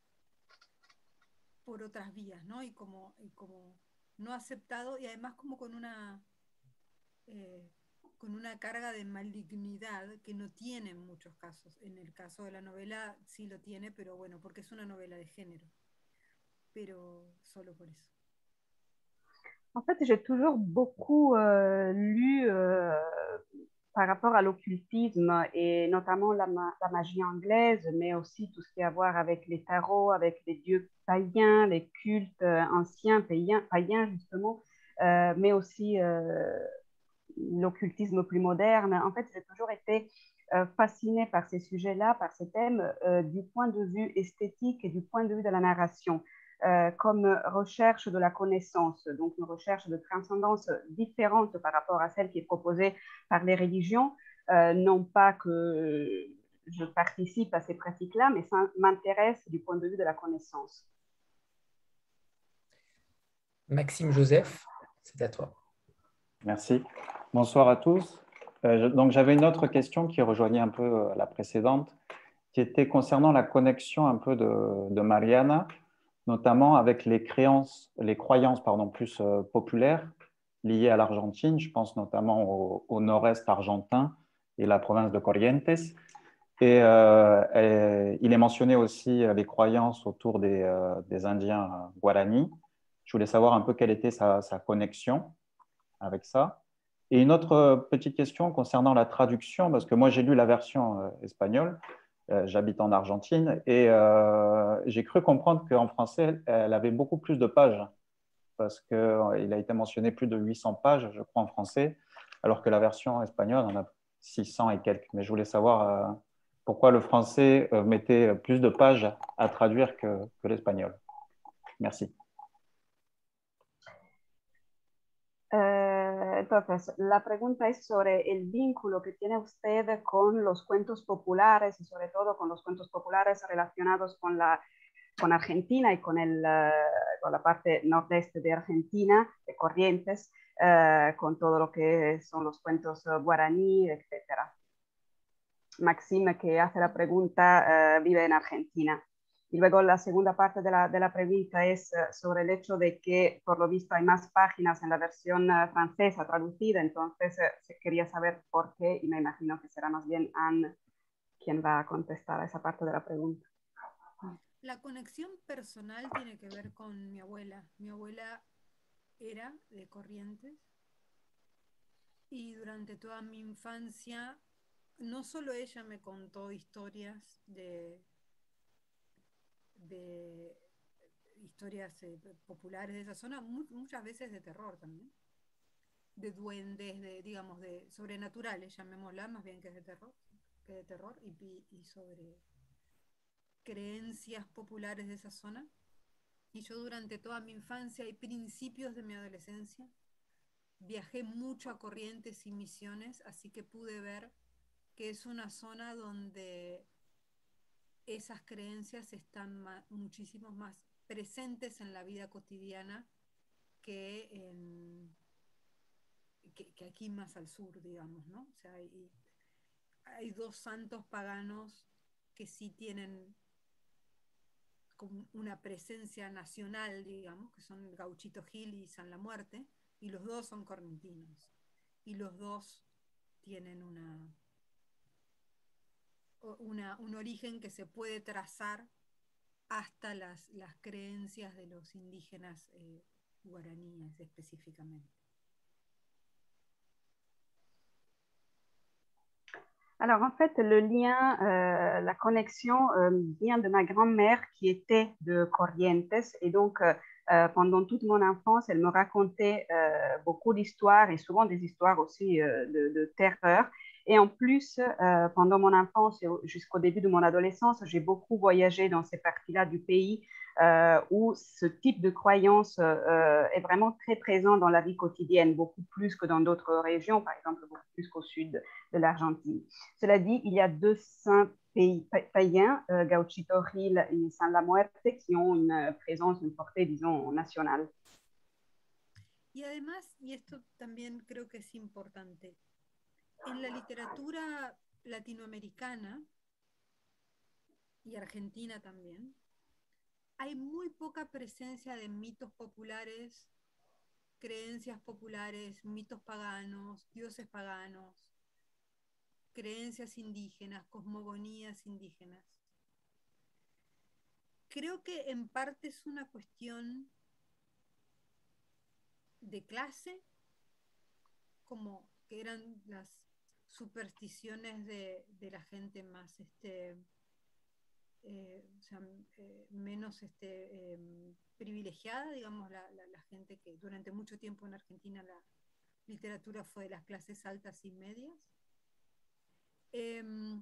por otras vías, ¿no? Y como, y como no aceptado, y además como con una... Eh, con una carga de malignidad que no tiene en muchos casos. En el caso de la novela sí lo tiene, pero bueno, porque es una novela de género. Pero solo por eso. En fait, j'ai toujours beaucoup euh, lu euh, par rapport à l'occultisme et notamment la, ma la magie anglaise, mais aussi tout ce qui a à voir avec les tarots, avec les dieux païens, les cultes euh, anciens païens, païens justement, euh, mais aussi euh, l'occultisme plus moderne. En fait, j'ai toujours été euh, fascinée par ces sujets-là, par ces thèmes, euh, du point de vue esthétique et du point de vue de la narration, euh, comme recherche de la connaissance, donc une recherche de transcendance différente par rapport à celle qui est proposée par les religions. Euh, non pas que je participe à ces pratiques-là, mais ça m'intéresse du point de vue de la connaissance. Maxime Joseph, c'est à toi. Merci. Bonsoir à tous. Euh, je, donc, j'avais une autre question qui rejoignait un peu euh, la précédente, qui était concernant la connexion un peu de, de Mariana, notamment avec les créances, les croyances pardon, plus euh, populaires liées à l'Argentine. Je pense notamment au, au nord-est argentin et la province de Corrientes. Et, euh, et il est mentionné aussi les croyances autour des, euh, des Indiens Guarani. Je voulais savoir un peu quelle était sa, sa connexion avec ça. Et une autre petite question concernant la traduction, parce que moi j'ai lu la version euh, espagnole, euh, j'habite en Argentine, et euh, j'ai cru comprendre qu'en français, elle, elle avait beaucoup plus de pages, parce qu'il euh, a été mentionné plus de huit cents pages, je crois, en français, alors que la version espagnole en a six cents et quelques. Mais je voulais savoir euh, pourquoi le français euh, mettait plus de pages à traduire que, que l'espagnol. Merci. Eh, entonces, la pregunta es sobre el vínculo que tiene usted con los cuentos populares y sobre todo con los cuentos populares relacionados con, la, con Argentina y con, el, uh, con la parte nordeste de Argentina, de Corrientes, uh, con todo lo que son los cuentos uh, guaraní, etcétera. Maxime, que hace la pregunta, uh, vive en Argentina. Y luego la segunda parte de la, de la pregunta es uh, sobre el hecho de que, por lo visto, hay más páginas en la versión uh, francesa traducida, entonces uh, quería saber por qué, y me imagino que será más bien Anne quien va a contestar a esa parte de la pregunta. La conexión personal tiene que ver con mi abuela. Mi abuela era de Corrientes y durante toda mi infancia, no solo ella me contó historias de... de historias eh, populares de esa zona, mu muchas veces de terror también, de duendes, de, digamos, de sobrenaturales, llamémosla, más bien que de terror, que de terror y, y sobre creencias populares de esa zona. Y yo durante toda mi infancia y principios de mi adolescencia viajé mucho a Corrientes y Misiones, así que pude ver que es una zona donde esas creencias están ma muchísimo más presentes en la vida cotidiana que, en, que, que aquí más al sur, digamos, ¿no? O sea, hay, hay dos santos paganos que sí tienen como una presencia nacional, digamos, que son Gauchito Gil y San La Muerte, y los dos son correntinos, y los dos tienen una... Una, un origen que se puede trazar hasta las, las creencias de los indígenas eh, guaraníes específicamente. Alors en fait, le lien, euh, la connexion euh, vient de ma grand-mère qui était de Corrientes et donc euh, pendant toute mon enfance, elle me racontait euh, beaucoup d'histoires et souvent des histoires aussi euh, de, de terreur. Et en plus, euh, pendant mon enfance et jusqu'au début de mon adolescence, j'ai beaucoup voyagé dans ces parties-là du pays euh, où ce type de croyance euh, est vraiment très présent dans la vie quotidienne, beaucoup plus que dans d'autres régions, par exemple beaucoup plus qu'au sud de l'Argentine. Cela dit, il y a deux saints pays païens, euh, Gauchito Gil et San La Muerte, qui ont une présence, une portée, disons, nationale. Y además, y esto también creo que es importante, en la literatura latinoamericana y argentina también, hay muy poca presencia de mitos populares, creencias populares, mitos paganos, dioses paganos, creencias indígenas, cosmogonías indígenas. Creo que en parte es una cuestión de clase, como que eran las supersticiones de, de la gente más, este, eh, o sea, eh, menos este, eh, privilegiada, digamos, la, la, la gente que durante mucho tiempo en Argentina la literatura fue de las clases altas y medias. Eh,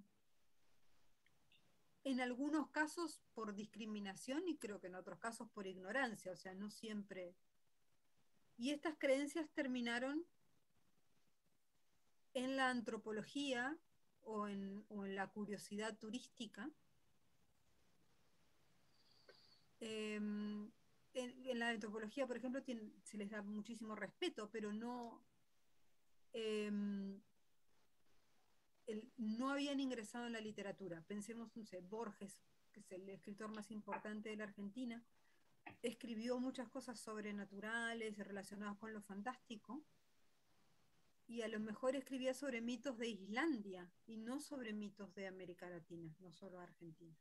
en algunos casos por discriminación y creo que en otros casos por ignorancia, o sea, no siempre. Y estas creencias terminaron en la antropología o en, o en la curiosidad turística. Eh, en, en la antropología, por ejemplo, tiene, se les da muchísimo respeto, pero no, eh, el, no habían ingresado en la literatura. Pensemos, no sé, Borges, que es el escritor más importante de la Argentina, escribió muchas cosas sobrenaturales relacionadas con lo fantástico, y a lo mejor escribía sobre mitos de Islandia y no sobre mitos de América Latina, no solo Argentina.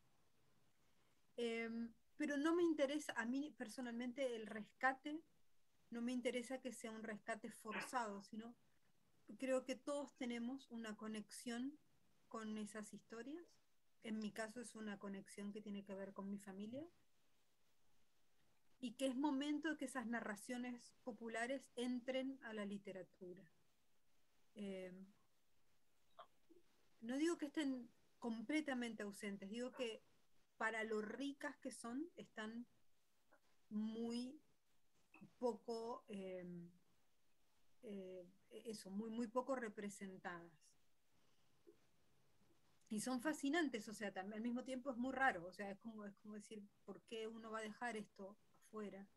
Eh, pero no me interesa, a mí personalmente el rescate, no me interesa que sea un rescate forzado, sino creo que todos tenemos una conexión con esas historias. En mi caso es una conexión que tiene que ver con mi familia, y que es momento de que esas narraciones populares entren a la literatura. Eh, no digo que estén completamente ausentes, digo que para lo ricas que son, están muy poco, eh, eh, eso, muy, muy poco representadas. Y son fascinantes, o sea, también, al mismo tiempo es muy raro, o sea, es como, es como decir, ¿por qué uno va a dejar esto afuera?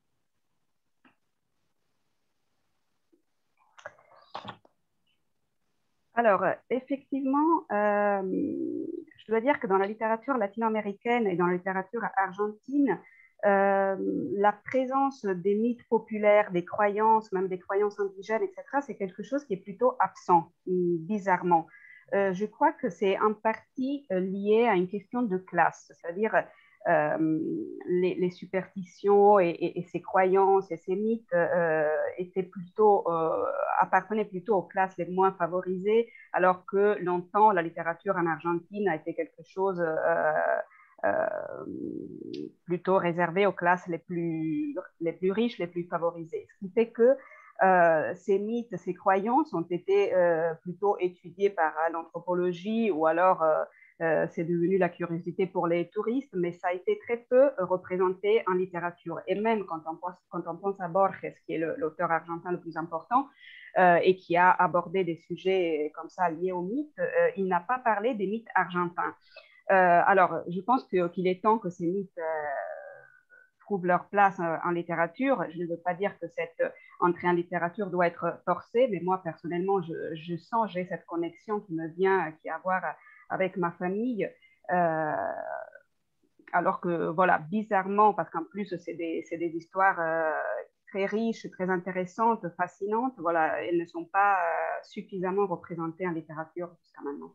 Alors, effectivement, euh, je dois dire que dans la littérature latino-américaine et dans la littérature argentine, euh, la présence des mythes populaires, des croyances, même des croyances indigènes, et cetera, c'est quelque chose qui est plutôt absent, bizarrement. Euh, je crois que c'est en partie lié à une question de classe, c'est-à-dire euh, les, les superstitions et, et, et ces croyances et ces mythes euh, étaient plutôt, euh, appartenaient plutôt aux classes les moins favorisées, alors que longtemps la littérature en Argentine a été quelque chose euh, euh, plutôt réservé aux classes les plus, les plus riches, les plus favorisées. Ce qui fait que Euh, ces mythes, ces croyances ont été euh, plutôt étudiées par euh, l'anthropologie, ou alors euh, euh, c'est devenu la curiosité pour les touristes, mais ça a été très peu représenté en littérature. Et même quand on pense, quand on pense à Borges, qui est l'auteur argentin le plus important euh, et qui a abordé des sujets comme ça liés aux mythes, euh, il n'a pas parlé des mythes argentins. Euh, alors, je pense que, qu'il est temps que ces mythes trouvent leur place en littérature. Je ne veux pas dire que cette entrée en littérature doit être forcée, mais moi, personnellement, je, je sens, j'ai cette connexion qui me vient, qui a à voir avec ma famille. Euh, alors que, voilà, bizarrement, parce qu'en plus, c'est des, c'est des histoires euh, très riches, très intéressantes, fascinantes, voilà, elles ne sont pas euh, suffisamment représentées en littérature jusqu'à maintenant.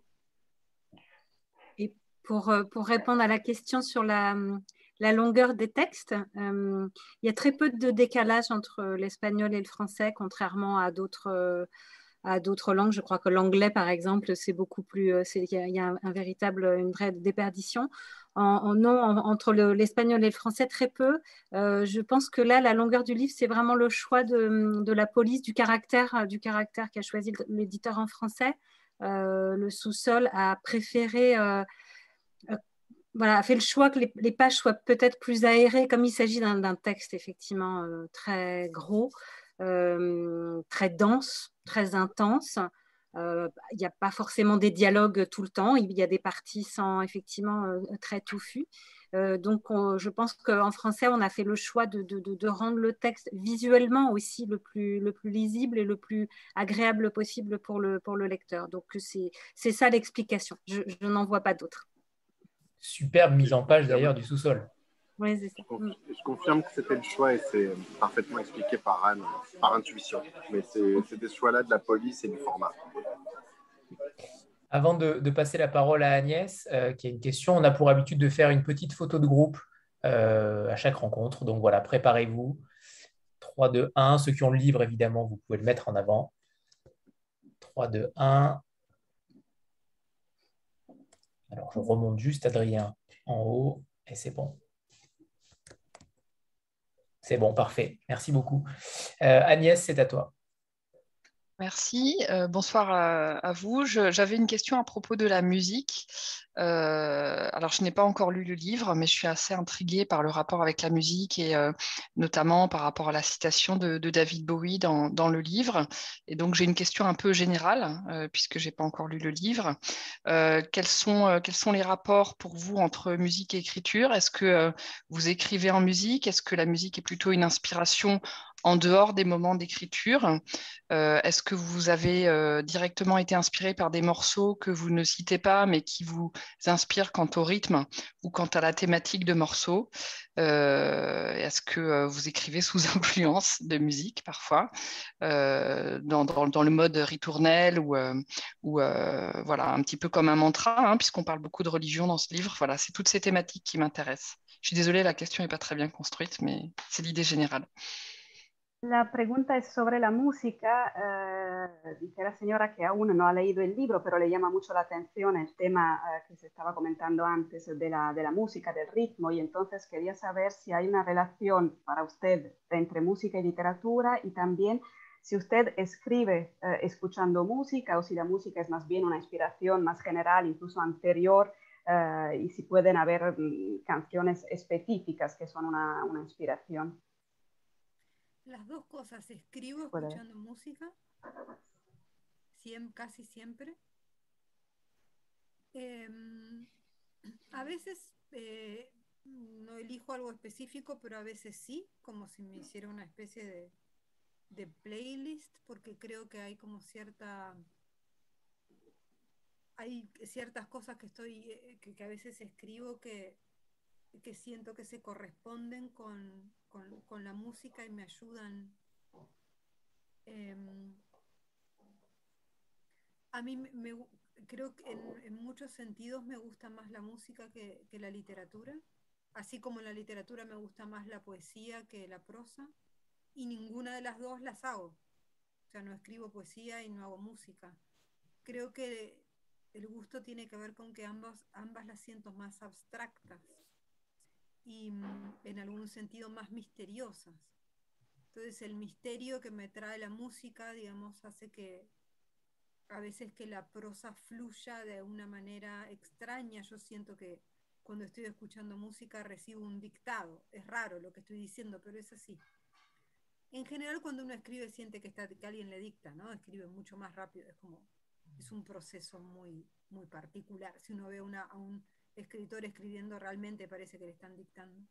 Et pour, pour répondre à la question sur la... la longueur des textes, euh, il y a très peu de décalage entre l'espagnol et le français, contrairement à d'autres, euh, à d'autres langues. Je crois que l'anglais, par exemple, c'est beaucoup plus, c'est, il y a, il y a un, un véritable, une vraie déperdition. En, en, non, en, entre le, l'espagnol et le français, très peu. Euh, je pense que là, la longueur du livre, c'est vraiment le choix de, de la police, du caractère, du caractère qu'a choisi l'éditeur en français. Euh, le sous-sol a préféré... Euh, Voilà, a fait le choix que les, les pages soient peut-être plus aérées, comme il s'agit d'un, d'un texte effectivement euh, très gros, euh, très dense, très intense. Euh, il n'y a pas forcément des dialogues tout le temps, il y a des parties sans effectivement euh, très touffues. Euh, donc, on, je pense qu'en français, on a fait le choix de, de, de, de rendre le texte visuellement aussi le plus, le plus lisible et le plus agréable possible pour le, pour le lecteur. Donc, c'est, c'est ça l'explication. Je, je n'en vois pas d'autre. Superbe mise en page d'ailleurs du sous-sol. Oui, c'est ça. Je, je confirme que c'était le choix et c'est parfaitement expliqué par Anne, par intuition. Mais c'est, c'était ce choix-là de la police et du format. Avant de, de passer la parole à Agnès, euh, qui a une question, on a pour habitude de faire une petite photo de groupe euh, à chaque rencontre. Donc voilà, préparez-vous. trois, deux, un. Ceux qui ont le livre, évidemment, vous pouvez le mettre en avant. trois, deux, un. Alors, je remonte juste Adrien en haut et c'est bon. C'est bon, parfait. Merci beaucoup. Euh, Agnès, c'est à toi. Merci. Euh, bonsoir à, à vous. Je- J'avais une question à propos de la musique. Euh, alors, je n'ai pas encore lu le livre, mais je suis assez intriguée par le rapport avec la musique et euh, notamment par rapport à la citation de, de David Bowie dans, dans le livre. Et donc, j'ai une question un peu générale, euh, puisque je n'ai pas encore lu le livre. Euh, quels sont, euh, quels sont les rapports pour vous entre musique et écriture? Est-ce que euh, vous écrivez en musique? Est-ce que la musique est plutôt une inspiration en dehors des moments d'écriture? Euh, est-ce que vous avez euh, directement été inspiré par des morceaux que vous ne citez pas, mais qui vous inspirent quant au rythme ou quant à la thématique de morceaux? Euh, est-ce que euh, vous écrivez sous influence de musique parfois, euh, dans, dans, dans le mode ritournel ou, euh, ou euh, voilà, un petit peu comme un mantra, hein, puisqu'on parle beaucoup de religion dans ce livre. Voilà, c'est toutes ces thématiques qui m'intéressent. Je suis désolée, la question n'est pas très bien construite, mais c'est l'idée générale. La pregunta es sobre la música. Eh, dice la señora que aún no ha leído el libro, pero le llama mucho la atención el tema eh, que se estaba comentando antes de la, de la música, del ritmo, y entonces quería saber si hay una relación para usted entre música y literatura y también si usted escribe eh, escuchando música o si la música es más bien una inspiración más general, incluso anterior, eh, y si pueden haber mm, canciones específicas que son una, una inspiración. Las dos cosas, escribo Puede. escuchando música, siem- casi siempre. Eh, a veces eh, no elijo algo específico, pero a veces sí, como si me hiciera una especie de, de playlist, porque creo que hay como cierta... Hay ciertas cosas que estoy, eh, que, que a veces escribo que, que siento que se corresponden con, con, con la música y me ayudan. Eh, a mí me, me, creo que en, en, muchos sentidos me gusta más la música que, que la literatura, así como en la literatura me gusta más la poesía que la prosa, y ninguna de las dos las hago. O sea, no escribo poesía y no hago música. Creo que el gusto tiene que ver con que ambas, ambas las siento más abstractas y en algún sentido más misteriosas. Entonces el misterio que me trae la música, digamos, hace que a veces que la prosa fluya de una manera extraña. Yo siento que cuando estoy escuchando música recibo un dictado. Es raro lo que estoy diciendo, pero es así. En general, cuando uno escribe siente que, está, que alguien le dicta, ¿no? Escribe mucho más rápido, es como, es un proceso muy, muy particular. Si uno ve una, a un escritor escribiendo, realmente parece que le están dictando.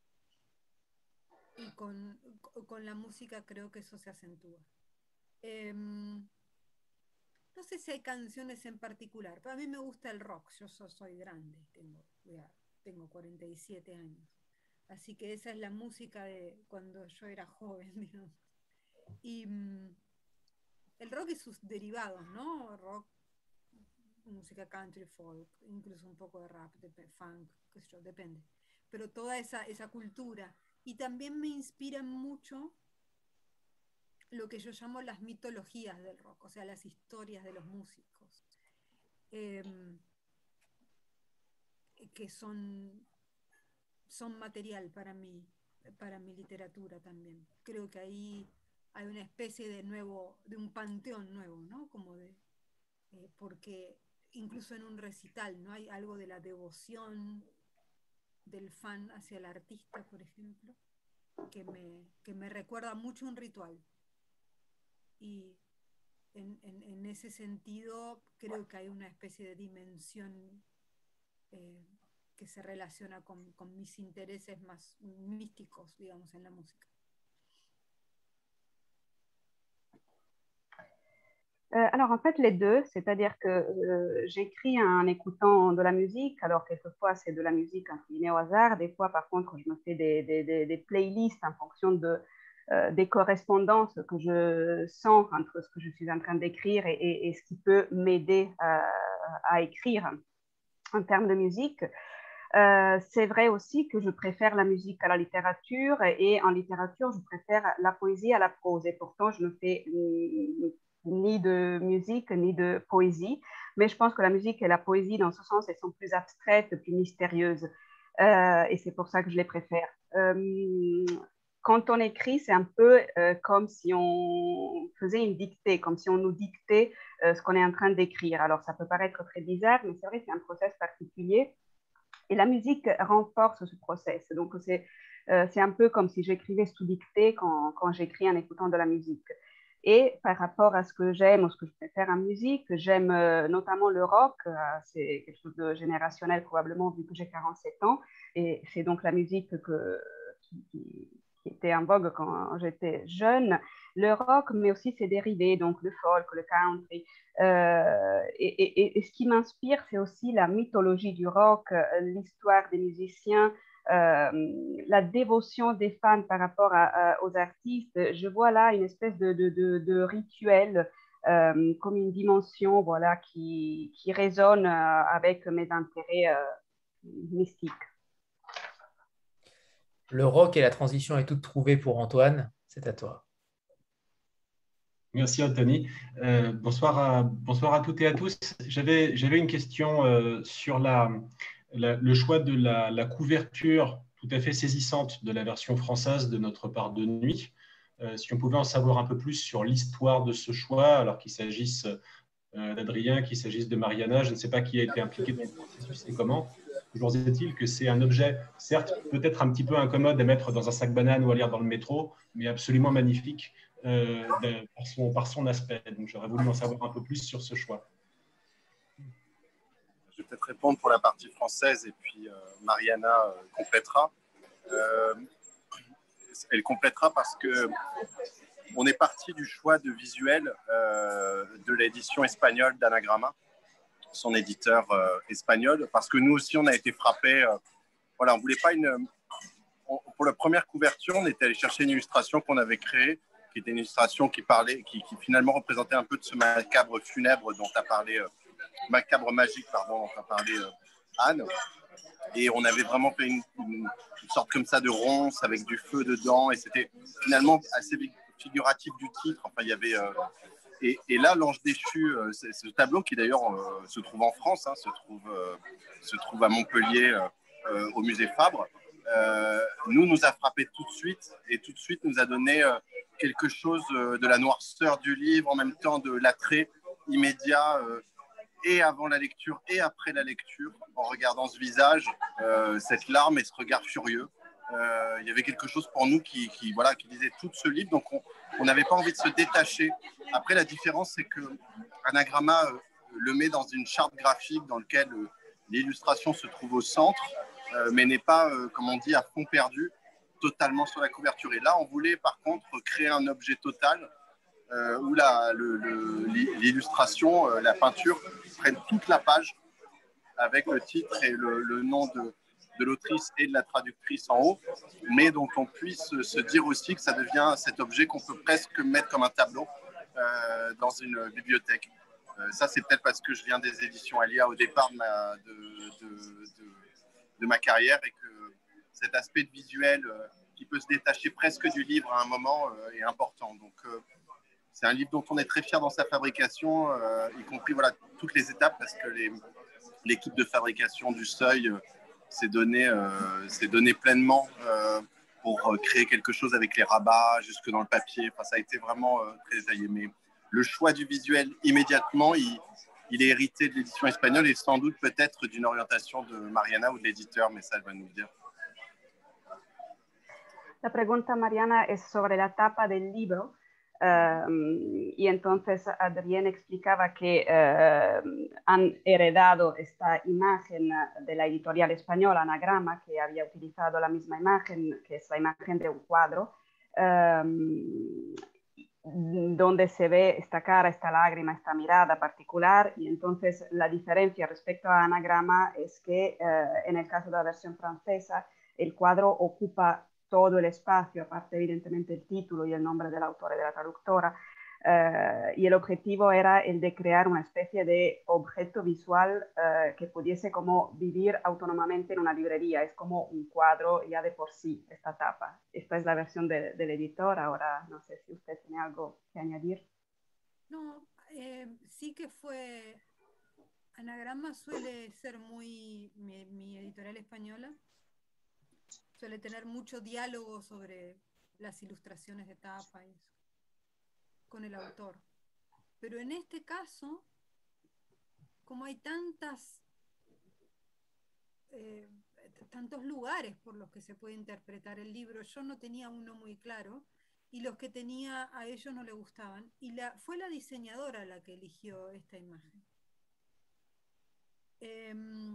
Y con, con la música creo que eso se acentúa. Eh, no sé si hay canciones en particular, pero a mí me gusta el rock. Yo so, soy grande, tengo, ya, tengo cuarenta y siete años. Así que esa es la música de cuando yo era joven, digamos. Y um, el rock y sus derivados, ¿no? Rock, música country, folk, incluso un poco de rap, de funk, qué sé yo, depende. Pero toda esa, esa cultura. Y también me inspiran mucho lo que yo llamo las mitologías del rock, o sea, las historias de los músicos, eh, que son, son material para mí, para mi literatura también. Creo que ahí hay una especie de nuevo, de un panteón nuevo, ¿no? Como de, eh, porque incluso en un recital, ¿no? Hay algo de la devoción del fan hacia el artista, por ejemplo, que me, que me recuerda mucho un ritual. Y en, en, en ese sentido creo que hay una especie de dimensión eh, que se relaciona con, con mis intereses más místicos, digamos, en la música. Euh, alors en fait les deux, c'est-à-dire que euh, j'écris en écoutant de la musique, alors quelquefois c'est de la musique entre guillemets au hasard, des fois par contre je me fais des, des, des, des playlists en fonction de, euh, des correspondances que je sens entre ce que je suis en train d'écrire et, et, et ce qui peut m'aider à, à écrire en termes de musique. Euh, c'est vrai aussi que je préfère la musique à la littérature et en littérature je préfère la poésie à la prose et pourtant je me fais ni de musique, ni de poésie. Mais je pense que la musique et la poésie, dans ce sens, elles sont plus abstraites, plus mystérieuses. Euh, et c'est pour ça que je les préfère. Euh, quand on écrit, c'est un peu euh, comme si on faisait une dictée, comme si on nous dictait euh, ce qu'on est en train d'écrire. Alors, ça peut paraître très bizarre, mais c'est vrai que c'est un process particulier. Et la musique renforce ce process. Donc, c'est euh, c'est un peu comme si j'écrivais sous dictée quand, quand j'écris en écoutant de la musique. Et par rapport à ce que j'aime ou ce que je préfère en musique, j'aime euh, notamment le rock. Euh, c'est quelque chose de générationnel probablement vu que j'ai quarante-sept ans. Et c'est donc la musique que, qui, qui, qui était en vogue quand j'étais jeune. Le rock, mais aussi ses dérivés, donc le folk, le country. Euh, et, et, et ce qui m'inspire, c'est aussi la mythologie du rock, l'histoire des musiciens, euh, la dévotion des fans par rapport à, à, aux artistes. Je vois là une espèce de, de, de, de rituel, euh, comme une dimension voilà, qui, qui résonne euh, avec mes intérêts euh, mystiques. Le rock et la transition est toute trouvée pour Antoine. C'est à toi. Merci Anthony. Euh, bonsoir, à, bonsoir à toutes et à tous. J'avais, j'avais une question euh, sur la, la, le choix de la, la couverture tout à fait saisissante de la version française de Notre part de nuit. Euh, si on pouvait en savoir un peu plus sur l'histoire de ce choix, alors qu'il s'agisse euh, d'Adrien, qu'il s'agisse de Mariana, je ne sais pas qui a été impliqué dans le processus et comment. Toujours est-il que c'est un objet, certes, peut-être un petit peu incommode à mettre dans un sac banane ou à lire dans le métro, mais absolument magnifique. Euh, de, par, son, par son aspect. Donc, j'aurais voulu en savoir un peu plus sur ce choix. Je vais peut-être répondre pour la partie française et puis euh, Mariana euh, complétera. Euh, elle complétera parce que on est parti du choix de visuel euh, de l'édition espagnole d'Anagrama, son éditeur euh, espagnol, parce que nous aussi, on a été frappés. Euh, voilà, on voulait pas une... On, pour la première couverture, on était allé chercher une illustration qu'on avait créée, qui était une illustration qui parlait, qui, qui finalement représentait un peu de ce macabre funèbre dont a parlé, euh, macabre magique, pardon, dont a parlé euh, Anne. Et on avait vraiment fait une, une, une sorte comme ça de ronce avec du feu dedans, et c'était finalement assez figuratif du titre. Enfin, il y avait euh, et, et là, l'Ange déchu, euh, c'est ce tableau qui d'ailleurs euh, se trouve en France, hein, se trouve euh, se trouve à Montpellier euh, au musée Fabre. Euh, nous, nous a frappé tout de suite et tout de suite nous a donné euh, quelque chose euh, de la noirceur du livre, en même temps de l'attrait immédiat euh, et avant la lecture et après la lecture, en regardant ce visage, euh, cette larme et ce regard furieux. Euh, il y avait quelque chose pour nous qui, qui, voilà, qui disait tout ce livre, donc on n'avait pas envie de se détacher. Après, la différence, c'est que Anagrama euh, le met dans une charte graphique dans laquelle euh, l'illustration se trouve au centre, euh, mais n'est pas, euh, comme on dit, à fond perdu, totalement sur la couverture. Et là, on voulait par contre créer un objet total euh, où la, le, le, l'illustration, euh, la peinture, prenne toute la page avec le titre et le, le nom de, de l'autrice et de la traductrice en haut, mais dont on puisse se dire aussi que ça devient cet objet qu'on peut presque mettre comme un tableau euh, dans une bibliothèque. Euh, ça, c'est peut-être parce que je viens des éditions Alia au départ de ma, de, de, de, de ma carrière et que cet aspect de visuel euh, qui peut se détacher presque du livre à un moment euh, est important. Donc, euh, c'est un livre dont on est très fier dans sa fabrication, euh, y compris voilà, toutes les étapes, parce que les, l'équipe de fabrication du Seuil euh, s'est donné, euh, s'est donné pleinement euh, pour créer quelque chose avec les rabats jusque dans le papier. Enfin, ça a été vraiment euh, très détaillé. Mais le choix du visuel, immédiatement, il, il est hérité de l'édition espagnole et sans doute peut-être d'une orientation de Mariana ou de l'éditeur, mais ça, elle va nous le dire. La pregunta, Mariana, es sobre la tapa del libro. Uh, y entonces Adrián explicaba que uh, han heredado esta imagen de la editorial española Anagrama, que había utilizado la misma imagen, que es la imagen de un cuadro, um, donde se ve esta cara, esta lágrima, esta mirada particular. Y entonces la diferencia respecto a Anagrama es que uh, en el caso de la versión francesa, el cuadro ocupa todo el espacio, aparte evidentemente el título y el nombre del autor y de la traductora, uh, y el objetivo era el de crear una especie de objeto visual uh, que pudiese como vivir autónomamente en una librería. Es como un cuadro ya de por sí, esta tapa. Esta es la versión de, del editor. Ahora no sé si usted tiene algo que añadir. No, eh, sí que fue, Anagrama suele ser muy, mi, mi editorial española, suele tener mucho diálogo sobre las ilustraciones de tapa y eso, con el autor. Pero en este caso, como hay tantas, eh, tantos lugares por los que se puede interpretar el libro, yo no tenía uno muy claro, y los que tenía a ellos no les gustaban, y la, fue la diseñadora la que eligió esta imagen. Eh,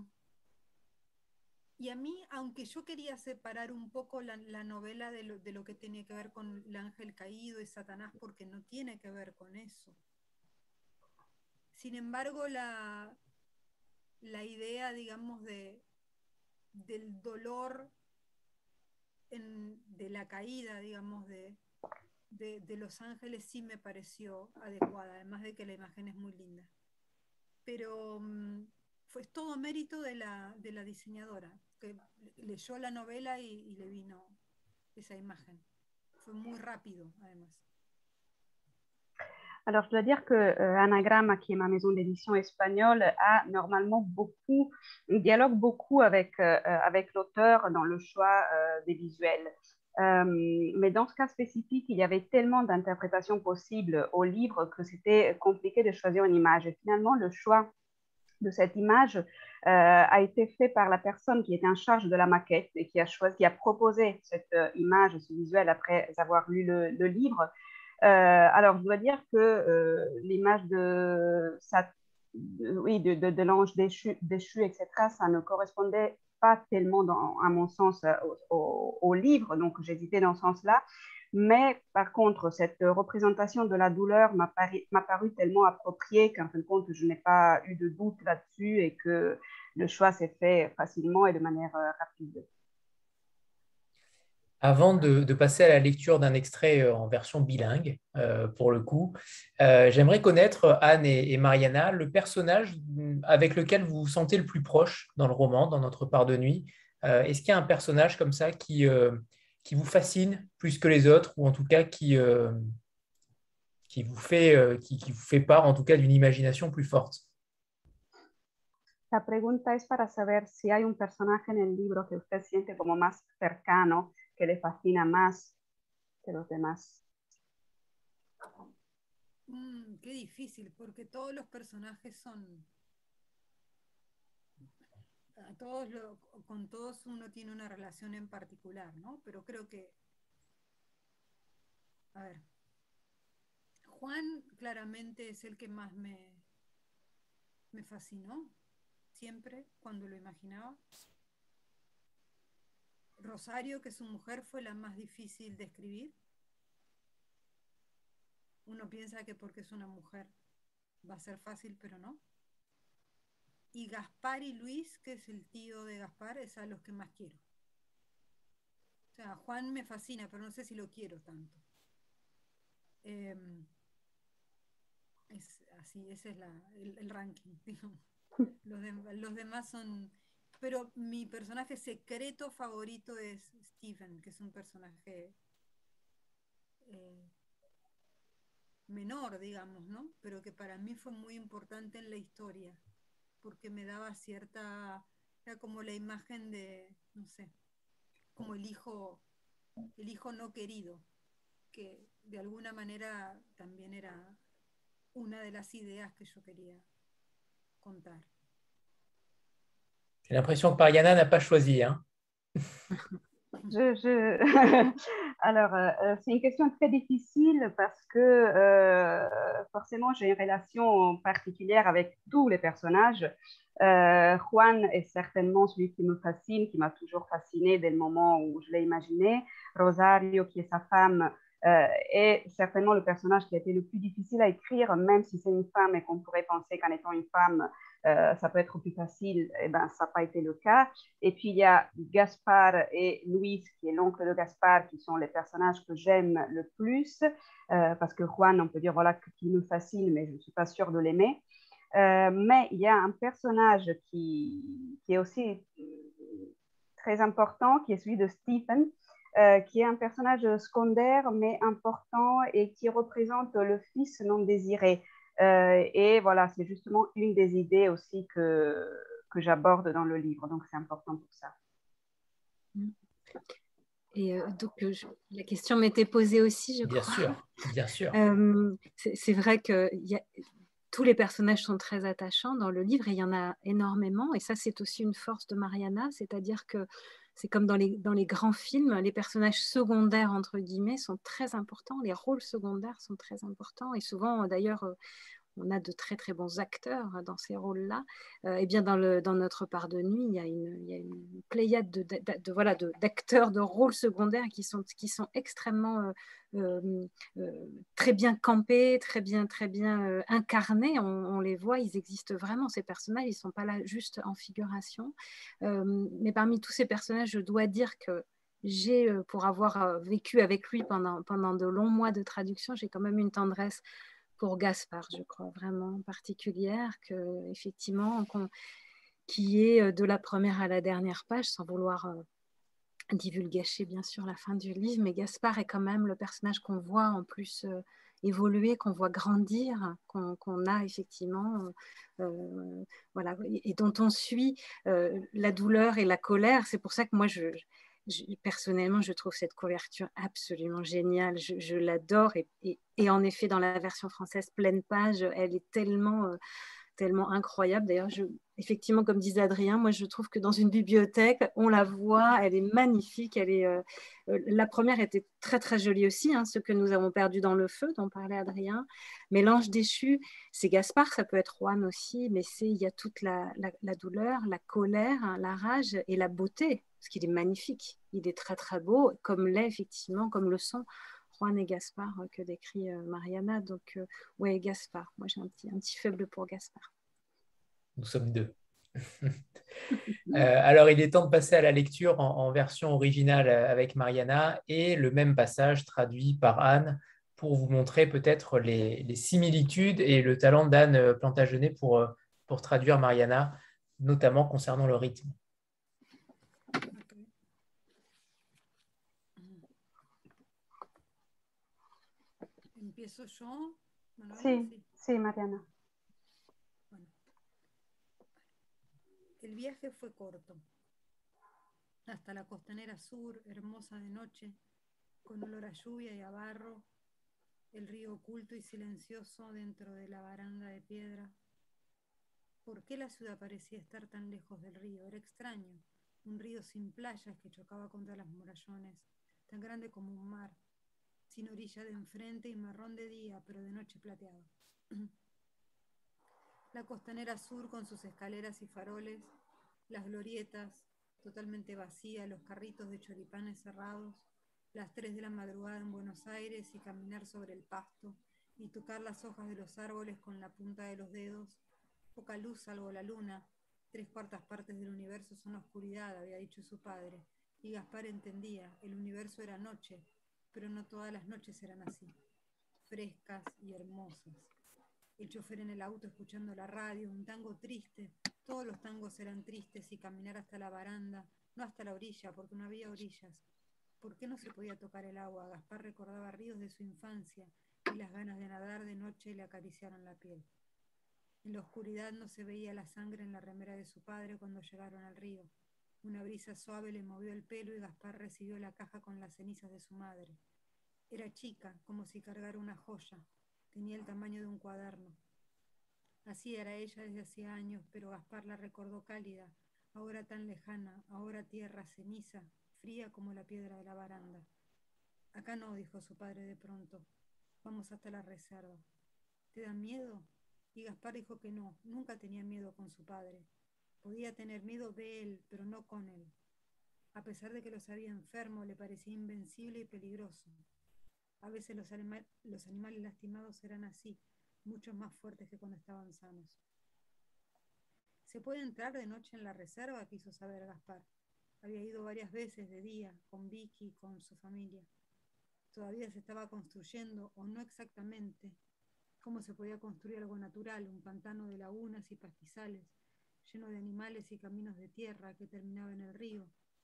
y a mí, aunque yo quería separar un poco la, la novela de lo, de lo que tenía que ver con el ángel caído y Satanás, porque no tiene que ver con eso. Sin embargo, la, la idea, digamos, de, del dolor en, de la caída, digamos, de, de, de los ángeles sí me pareció adecuada, además de que la imagen es muy linda. Pero um, fue todo mérito de la, de la diseñadora, que leyó la novela y, y le vino esa imagen. Fue muy rápido, además. Alors, je dois dire que euh, Anagramme, qui est ma maison d'édition espagnole, a normalement beaucoup, dialogue beaucoup avec, euh, avec l'auteur dans le choix euh, des visuels. Euh, mais dans ce cas spécifique, il y avait tellement d'interprétations possibles au livre que c'était compliqué de choisir une image. Et finalement, le choix de cette image euh, a été fait par la personne qui était en charge de la maquette et qui a choisi, qui a proposé cette euh, image, ce visuel après avoir lu le, le livre. Euh, alors, je dois dire que euh, l'image de, ça, de, oui, de, de, de l'ange déchu, déchu, et cetera, ça ne correspondait pas tellement, dans, à mon sens, au, au, au livre, donc j'hésitais dans ce sens-là. Mais par contre, cette représentation de la douleur m'a paru, m'a paru tellement appropriée qu'en fin de compte, je n'ai pas eu de doute là-dessus et que le choix s'est fait facilement et de manière euh, rapide. Avant de, de passer à la lecture d'un extrait en version bilingue, euh, pour le coup, euh, j'aimerais connaître, Anne et, et Mariana, le personnage avec lequel vous vous sentez le plus proche dans le roman, dans Notre part de nuit. Euh, est-ce qu'il y a un personnage comme ça qui, euh, qui vous fascine plus que les autres, ou en tout cas qui, euh, qui, vous fait, euh, qui, qui vous fait part en tout cas d'une imagination plus forte? La pregunta es para saber si hay un personaje en el libro que usted siente como más cercano, que le fascina más que los demás. Mm, qué difícil, porque todos los personajes son... A todos lo, con todos uno tiene una relación en particular, ¿no? Pero creo que... A ver. Juan claramente es el que más me, me fascinó, siempre, cuando lo imaginaba. Rosario, que es su mujer, fue la más difícil de escribir. Uno piensa que porque es una mujer va a ser fácil, pero no. Y Gaspar y Luis, que es el tío de Gaspar, es a los que más quiero. O sea, Juan me fascina, pero no sé si lo quiero tanto. Eh, es así, ese es la, el, el ranking, digamos. Los, de, los demás son... Pero mi personaje secreto favorito es Stephen, que es un personaje eh, menor, digamos, ¿no? Pero que para mí fue muy importante en la historia, porque me daba cierta... Era como la imagen de, no sé, como el hijo, el hijo no querido, que de alguna manera también era una de las ideas que yo quería contar. J'ai l'impression que Mariana n'a pas choisi. Hein. Je, je... Alors, euh, c'est une question très difficile parce que euh, forcément, j'ai une relation particulière avec tous les personnages. Euh, Juan est certainement celui qui me fascine, qui m'a toujours fasciné dès le moment où je l'ai imaginé. Rosario, qui est sa femme, euh, est certainement le personnage qui a été le plus difficile à écrire, même si c'est une femme et qu'on pourrait penser qu'en étant une femme, euh, ça peut être plus facile. Eh ben, ça n'a pas été le cas. Et puis, il y a Gaspar et Luis, qui est l'oncle de Gaspar, qui sont les personnages que j'aime le plus, euh, parce que Juan, on peut dire voilà, qu'il me fascine, mais je ne suis pas sûre de l'aimer. Euh, mais il y a un personnage qui, qui est aussi très important, qui est celui de Stephen, euh, qui est un personnage secondaire mais important et qui représente le fils non désiré. Euh, et voilà, c'est justement une des idées aussi que, que j'aborde dans le livre, donc c'est important pour ça. Et euh, donc, euh, je, la question m'était posée aussi, je bien crois. Bien sûr, bien sûr. Euh, c'est vrai que y a, tous les personnages sont très attachants dans le livre et il y en a énormément. Et ça, c'est aussi une force de Mariana, c'est-à-dire que c'est comme dans les, dans les grands films, les personnages secondaires, entre guillemets, sont très importants. Les rôles secondaires sont très importants. Et souvent, d'ailleurs, on a de très très bons acteurs dans ces rôles-là. Euh, et bien dans, le, dans Notre part de nuit, il y a une, il y a une pléiade de, de, de, de, voilà, de, d'acteurs de rôles secondaires qui sont, qui sont extrêmement euh, euh, très bien campés, très bien, très bien euh, incarnés. On, on les voit, ils existent vraiment, ces personnages, ils ne sont pas là juste en figuration. Euh, mais parmi tous ces personnages, je dois dire que j'ai, pour avoir vécu avec lui pendant, pendant de longs mois de traduction, j'ai quand même une tendresse pour Gaspard, je crois, vraiment particulière, que, effectivement, qu'on, qui est de la première à la dernière page, sans vouloir euh, divulgacher bien sûr la fin du livre, mais Gaspard est quand même le personnage qu'on voit en plus euh, évoluer, qu'on voit grandir, qu'on, qu'on a effectivement, euh, euh, voilà, et, et dont on suit euh, la douleur et la colère. C'est pour ça que moi, je, je, personnellement, je trouve cette couverture absolument géniale. Je, je l'adore et, et, et en effet, dans la version française pleine page, elle est tellement... Euh, tellement incroyable. D'ailleurs, je, effectivement, comme disait Adrien, moi, je trouve que dans une bibliothèque, on la voit, elle est magnifique. Elle est, euh, euh, la première était très, très jolie aussi, hein, ce que nous avons perdu dans le feu, dont parlait Adrien. Mais l'ange déchu, c'est Gaspard, ça peut être Juan aussi, mais c'est, il y a toute la, la, la douleur, la colère, hein, la rage et la beauté, parce qu'il est magnifique. Il est très, très beau, comme l'est effectivement, comme le sont Juan et Gaspard euh, que décrit euh, Mariana. Donc, euh, ouais, Gaspard. Moi, j'ai un petit, un petit faible pour Gaspard. Nous sommes deux. euh, alors, il est temps de passer à la lecture en, en version originale avec Mariana et le même passage traduit par Anne pour vous montrer peut-être les, les similitudes et le talent d'Anne Plantagenet pour, pour traduire Mariana, notamment concernant le rythme. ¿Empiezo yo? Manuela? Sí, Sí. sí, Mariana. Bueno. El viaje fue corto. Hasta la costanera sur, hermosa de noche, con olor a lluvia y a barro, el río oculto y silencioso dentro de la baranda de piedra. ¿Por qué la ciudad parecía estar tan lejos del río? Era extraño. Un río sin playas que chocaba contra las murallones, tan grande como un mar, sin orilla de enfrente y marrón de día, pero de noche plateado. La costanera sur con sus escaleras y faroles, las glorietas totalmente vacías, los carritos de choripanes cerrados, las tres de la madrugada en Buenos Aires y caminar sobre el pasto y tocar las hojas de los árboles con la punta de los dedos, poca luz salvo la luna, tres cuartas partes del universo son oscuridad, había dicho su padre, y Gaspar entendía, el universo era noche, pero no todas las noches eran así, frescas y hermosas. El chofer en el auto escuchando la radio, un tango triste, todos los tangos eran tristes y caminar hasta la baranda, no hasta la orilla, porque no había orillas. ¿Por qué no se podía tocar el agua? Gaspar recordaba ríos de su infancia y las ganas de nadar de noche le acariciaron la piel. En la oscuridad no se veía la sangre en la remera de su padre cuando llegaron al río. Una brisa suave le movió el pelo y Gaspar recibió la caja con las cenizas de su madre. Era chica, como si cargara una joya. Tenía el tamaño de un cuaderno. Así era ella desde hacía años, pero Gaspar la recordó cálida, ahora tan lejana, ahora tierra ceniza, fría como la piedra de la baranda. Acá no, dijo su padre de pronto. Vamos hasta la reserva. ¿Te da miedo? Y Gaspar dijo que no, nunca tenía miedo con su padre. Podía tener miedo de él, pero no con él. A pesar de que lo sabía enfermo, le parecía invencible y peligroso. A veces los, anima- los animales lastimados eran así, mucho más fuertes que cuando estaban sanos. ¿Se puede entrar de noche en la reserva?, quiso saber Gaspar. Había ido varias veces de día, con Vicky y con su familia. Todavía se estaba construyendo, o no exactamente, cómo se podía construir algo natural, un pantano de lagunas y pastizales, lleno de animales y caminos de tierra que terminaba en el río.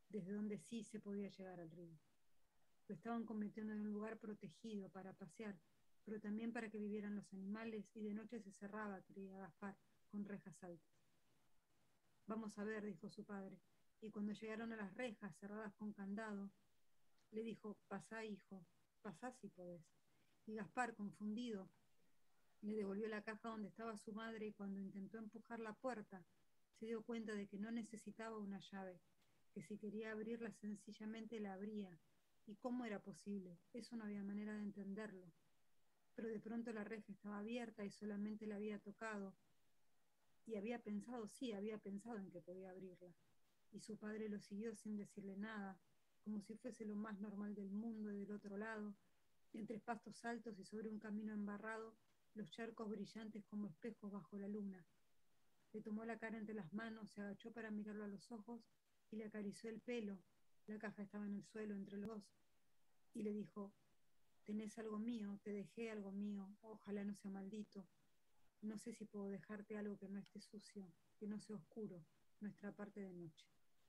desde donde sí se podía llegar al río. Lo estaban convirtiendo en un lugar protegido para pasear, pero también para que vivieran los animales, y de noche se cerraba, creía Gaspar, con rejas altas. Vamos a ver, dijo su padre, y cuando llegaron a las rejas cerradas con candado, le dijo, pasá, hijo, pasá si podés. Y Gaspar, confundido, le devolvió la caja donde estaba su madre, y cuando intentó empujar la puerta, se dio cuenta de que no necesitaba una llave, que si quería abrirla sencillamente la abría. ¿Y cómo era posible? Eso no había manera de entenderlo. Pero de pronto la reja estaba abierta y solamente la había tocado. Y había pensado, sí, había pensado en que podía abrirla. Y su padre lo siguió sin decirle nada, como si fuese lo más normal del mundo. Del otro lado, entre pastos altos y sobre un camino embarrado, los charcos brillantes como espejos bajo la luna. Le tomó la cara entre las manos, se agachó para mirarlo a los ojos y le acarició el pelo. La caja estaba en el suelo entre los dos. Y le dijo, tenés algo mío, te dejé algo mío, ojalá no sea maldito. No sé si puedo dejarte algo que no esté sucio, que no sea oscuro, nuestra parte de noche.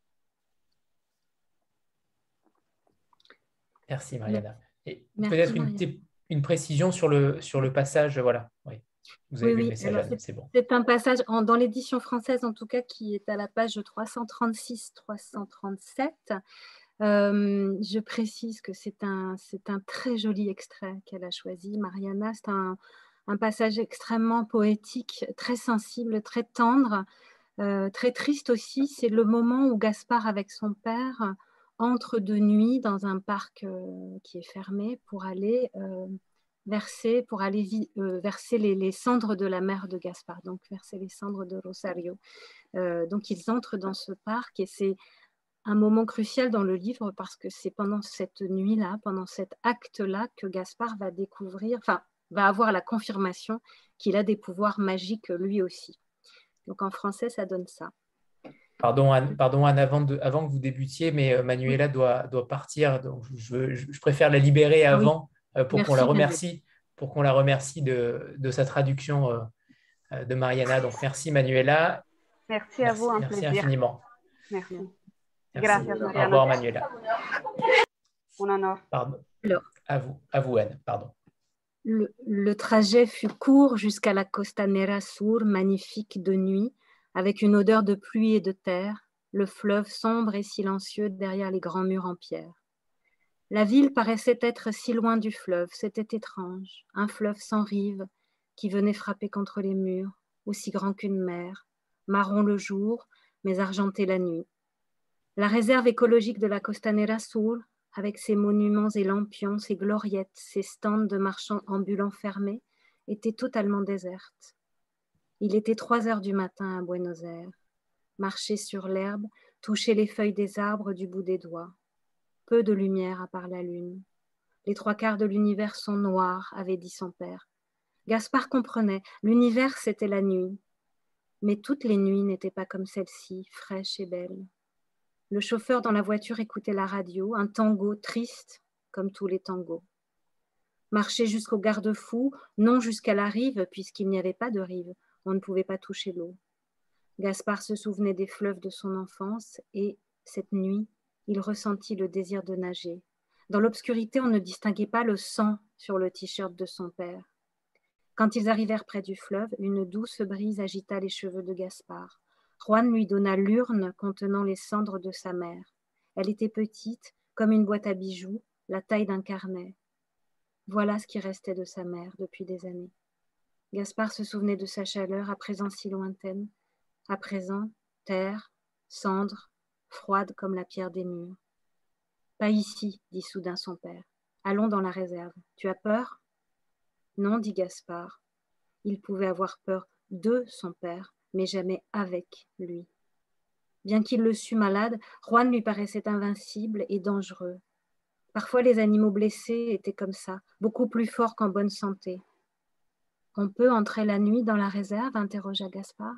Merci Mariana. Et Merci, peut-être une, Mariana. une précision sur le, sur le passage, voilà. Oui. Vous avez Oui, vu oui. le message, Alors, Anne, c'est bon. C'est un passage en, dans l'édition française, en tout cas, qui est à la page trois cent trente-six trois cent trente-sept. Euh, je précise que c'est un, c'est un très joli extrait qu'elle a choisi, Mariana. C'est un, un passage extrêmement poétique, très sensible, très tendre, euh, très triste aussi. C'est le moment où Gaspard, avec son père, entre de nuit dans un parc euh, qui est fermé pour aller euh, verser, pour aller euh, verser les, les cendres de la mère de Gaspard, donc verser les cendres de Rosario. Euh, donc ils entrent dans ce parc et c'est un moment crucial dans le livre parce que c'est pendant cette nuit-là, pendant cet acte-là que Gaspard va découvrir, enfin, va avoir la confirmation qu'il a des pouvoirs magiques lui aussi. Donc en français, ça donne ça. Pardon Anne, pardon, Anne avant, de, avant que vous débutiez, mais euh, Manuela oui. doit, doit partir, donc je, je, je préfère la libérer avant ah oui. euh, pour qu'on la remercie, pour qu'on la remercie de, de sa traduction euh, de Mariana. Donc merci Manuela. Merci, merci à vous, un merci plaisir. infiniment. Merci. Merci. Gracias, Mariana. Au revoir Manuela. Un honneur. Pardon. À vous, à vous Anne, pardon. Le, le trajet fut court jusqu'à la Costanera Sur, magnifique de nuit, avec une odeur de pluie et de terre, le fleuve sombre et silencieux derrière les grands murs en pierre. La ville paraissait être si loin du fleuve, c'était étrange, un fleuve sans rive qui venait frapper contre les murs, aussi grand qu'une mer, marron le jour, mais argenté la nuit. La réserve écologique de la Costanera Sur, avec ses monuments et lampions, ses gloriettes, ses stands de marchands ambulants fermés, était totalement déserte. Il était trois heures du matin à Buenos Aires. Marcher sur l'herbe, toucher les feuilles des arbres du bout des doigts. Peu de lumière à part la lune. Les trois quarts de l'univers sont noirs, avait dit son père. Gaspard comprenait, l'univers c'était la nuit. Mais toutes les nuits n'étaient pas comme celle-ci, fraîche et belle. Le chauffeur dans la voiture écoutait la radio, un tango triste, comme tous les tangos. Marcher jusqu'au garde-fou, non jusqu'à la rive, puisqu'il n'y avait pas de rive. On ne pouvait pas toucher l'eau. Gaspard se souvenait des fleuves de son enfance et, cette nuit, il ressentit le désir de nager. Dans l'obscurité, on ne distinguait pas le sang sur le t-shirt de son père. Quand ils arrivèrent près du fleuve, une douce brise agita les cheveux de Gaspard. Juan lui donna l'urne contenant les cendres de sa mère. Elle était petite, comme une boîte à bijoux, la taille d'un carnet. Voilà ce qui restait de sa mère depuis des années. Gaspard se souvenait de sa chaleur, à présent si lointaine, à présent terre, cendre, froide comme la pierre des murs. « Pas ici, dit soudain son père. Allons dans la réserve. Tu as peur ?» Non, dit Gaspard. Il pouvait avoir peur de son père, mais jamais avec lui. Bien qu'il le sût malade, Juan lui paraissait invincible et dangereux. Parfois les animaux blessés étaient comme ça, beaucoup plus forts qu'en bonne santé. « On peut entrer la nuit dans la réserve ?» interrogea Gaspard.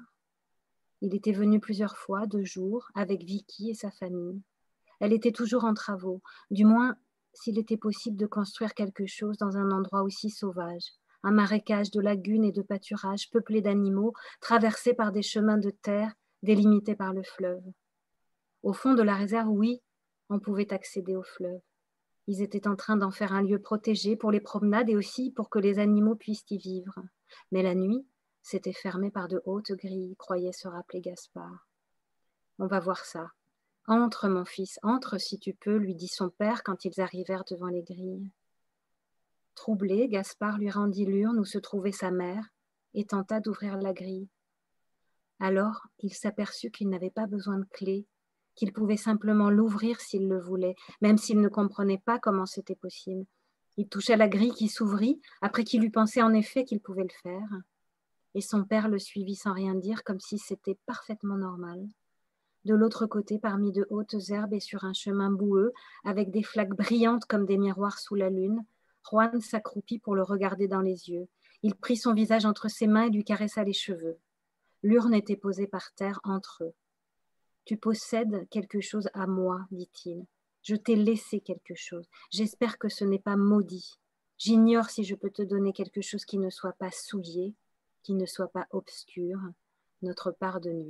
Il était venu plusieurs fois, de jour, avec Vicky et sa famille. Elle était toujours en travaux, du moins s'il était possible de construire quelque chose dans un endroit aussi sauvage, un marécage de lagunes et de pâturages peuplés d'animaux, traversés par des chemins de terre délimités par le fleuve. Au fond de la réserve, oui, on pouvait accéder au fleuve. Ils étaient en train d'en faire un lieu protégé pour les promenades et aussi pour que les animaux puissent y vivre. Mais la nuit, c'était fermé par de hautes grilles, croyait se rappeler Gaspard. On va voir ça. Entre, mon fils, entre si tu peux, lui dit son père quand ils arrivèrent devant les grilles. Troublé, Gaspard lui rendit l'urne où se trouvait sa mère et tenta d'ouvrir la grille. Alors, il s'aperçut qu'il n'avait pas besoin de clé, qu'il pouvait simplement l'ouvrir s'il le voulait, même s'il ne comprenait pas comment c'était possible. Il toucha la grille qui s'ouvrit, après qu'il eut pensé en effet qu'il pouvait le faire. Et son père le suivit sans rien dire, comme si c'était parfaitement normal. De l'autre côté, parmi de hautes herbes et sur un chemin boueux, avec des flaques brillantes comme des miroirs sous la lune, Juan s'accroupit pour le regarder dans les yeux. Il prit son visage entre ses mains et lui caressa les cheveux. L'urne était posée par terre entre eux. « Tu possèdes quelque chose à moi, dit-il. Je t'ai laissé quelque chose. J'espère que ce n'est pas maudit. J'ignore si je peux te donner quelque chose qui ne soit pas souillé, qui ne soit pas obscur, notre part de nuit. »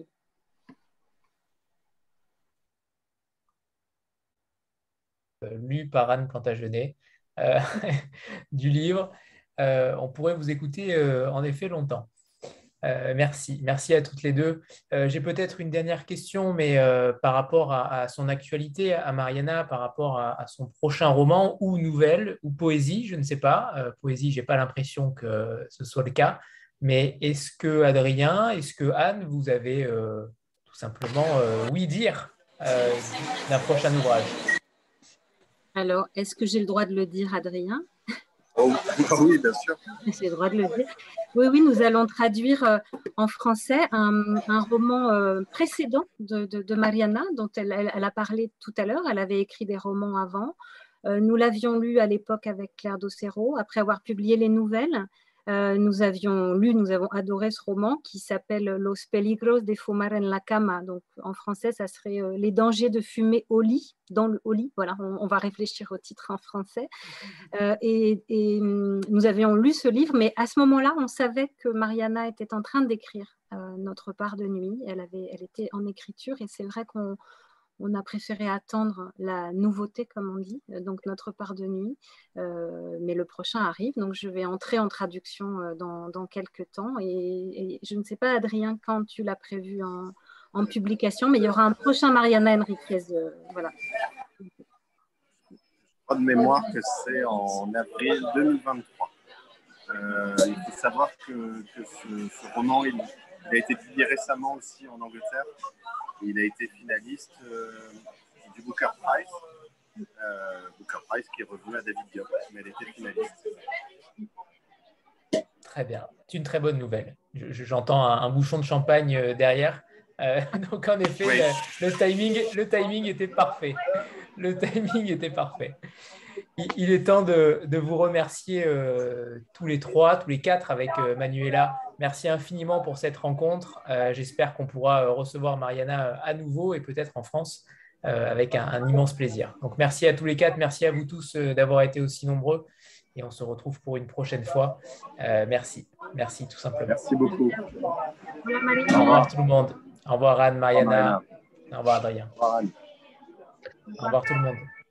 Lu par Anne Plantagenet, euh, du livre. Euh, on pourrait vous écouter euh, en effet longtemps. Euh, merci, merci à toutes les deux. Euh, j'ai peut-être une dernière question, mais euh, par rapport à, à son actualité, à Mariana, par rapport à, à son prochain roman ou nouvelle ou poésie, je ne sais pas. Euh, poésie, je n'ai pas l'impression que ce soit le cas. Mais est-ce que Adrien, est-ce que Anne, vous avez euh, tout simplement euh, oui dire euh, d'un prochain ouvrage? Alors, est-ce que j'ai le droit de le dire, Adrien? Oh, oui, bien sûr. J'ai le droit de le dire. Oui, oui, nous allons traduire euh, en français un, un roman euh, précédent de, de, de Mariana, dont elle, elle, elle a parlé tout à l'heure. Elle avait écrit des romans avant. Euh, nous l'avions lu à l'époque avec Claire Docero. Après avoir publié les nouvelles, euh, nous avions lu, nous avons adoré ce roman qui s'appelle Los peligros de fumar en la cama. Donc, en français, ça serait euh, Les dangers de fumer au lit, dans le au lit. Voilà, on, on va réfléchir au titre en français. Euh, et, et nous avions lu ce livre, mais à ce moment-là, on savait que Mariana était en train d'écrire euh, Notre part de nuit. Elle, avait, elle était en écriture et c'est vrai qu'on on a préféré attendre la nouveauté, comme on dit, donc Notre part de nuit. Euh, mais le prochain arrive, donc je vais entrer en traduction euh, dans, dans quelques temps. Et, et je ne sais pas, Adrien, quand tu l'as prévu en, en publication, mais il y aura un prochain Mariana Enriquez. Euh, voilà. De mémoire que c'est en avril deux mille vingt-trois. Euh, il faut savoir que, que ce, ce roman il, il a été publié récemment aussi en Angleterre. Il a été finaliste euh, du Booker Prize. Euh, Booker Prize qui est revenu à David Diop, mais elle était finaliste. Très bien, c'est une très bonne nouvelle. Je, j'entends un, un bouchon de champagne derrière. Euh, donc en effet, oui. le, le, timing, le timing était parfait. Le timing était parfait. Il, il est temps de, de vous remercier euh, tous les trois, tous les quatre avec euh, Manuela. Merci infiniment pour cette rencontre. Euh, j'espère qu'on pourra recevoir Mariana à nouveau et peut-être en France euh, avec un, un immense plaisir. Donc merci à tous les quatre, merci à vous tous euh, d'avoir été aussi nombreux et on se retrouve pour une prochaine fois. Euh, merci, merci tout simplement. Merci beaucoup. Au revoir tout le monde. Au revoir Anne, Mariana. Au revoir, Adrien. Au revoir, Anne. Au revoir tout le monde.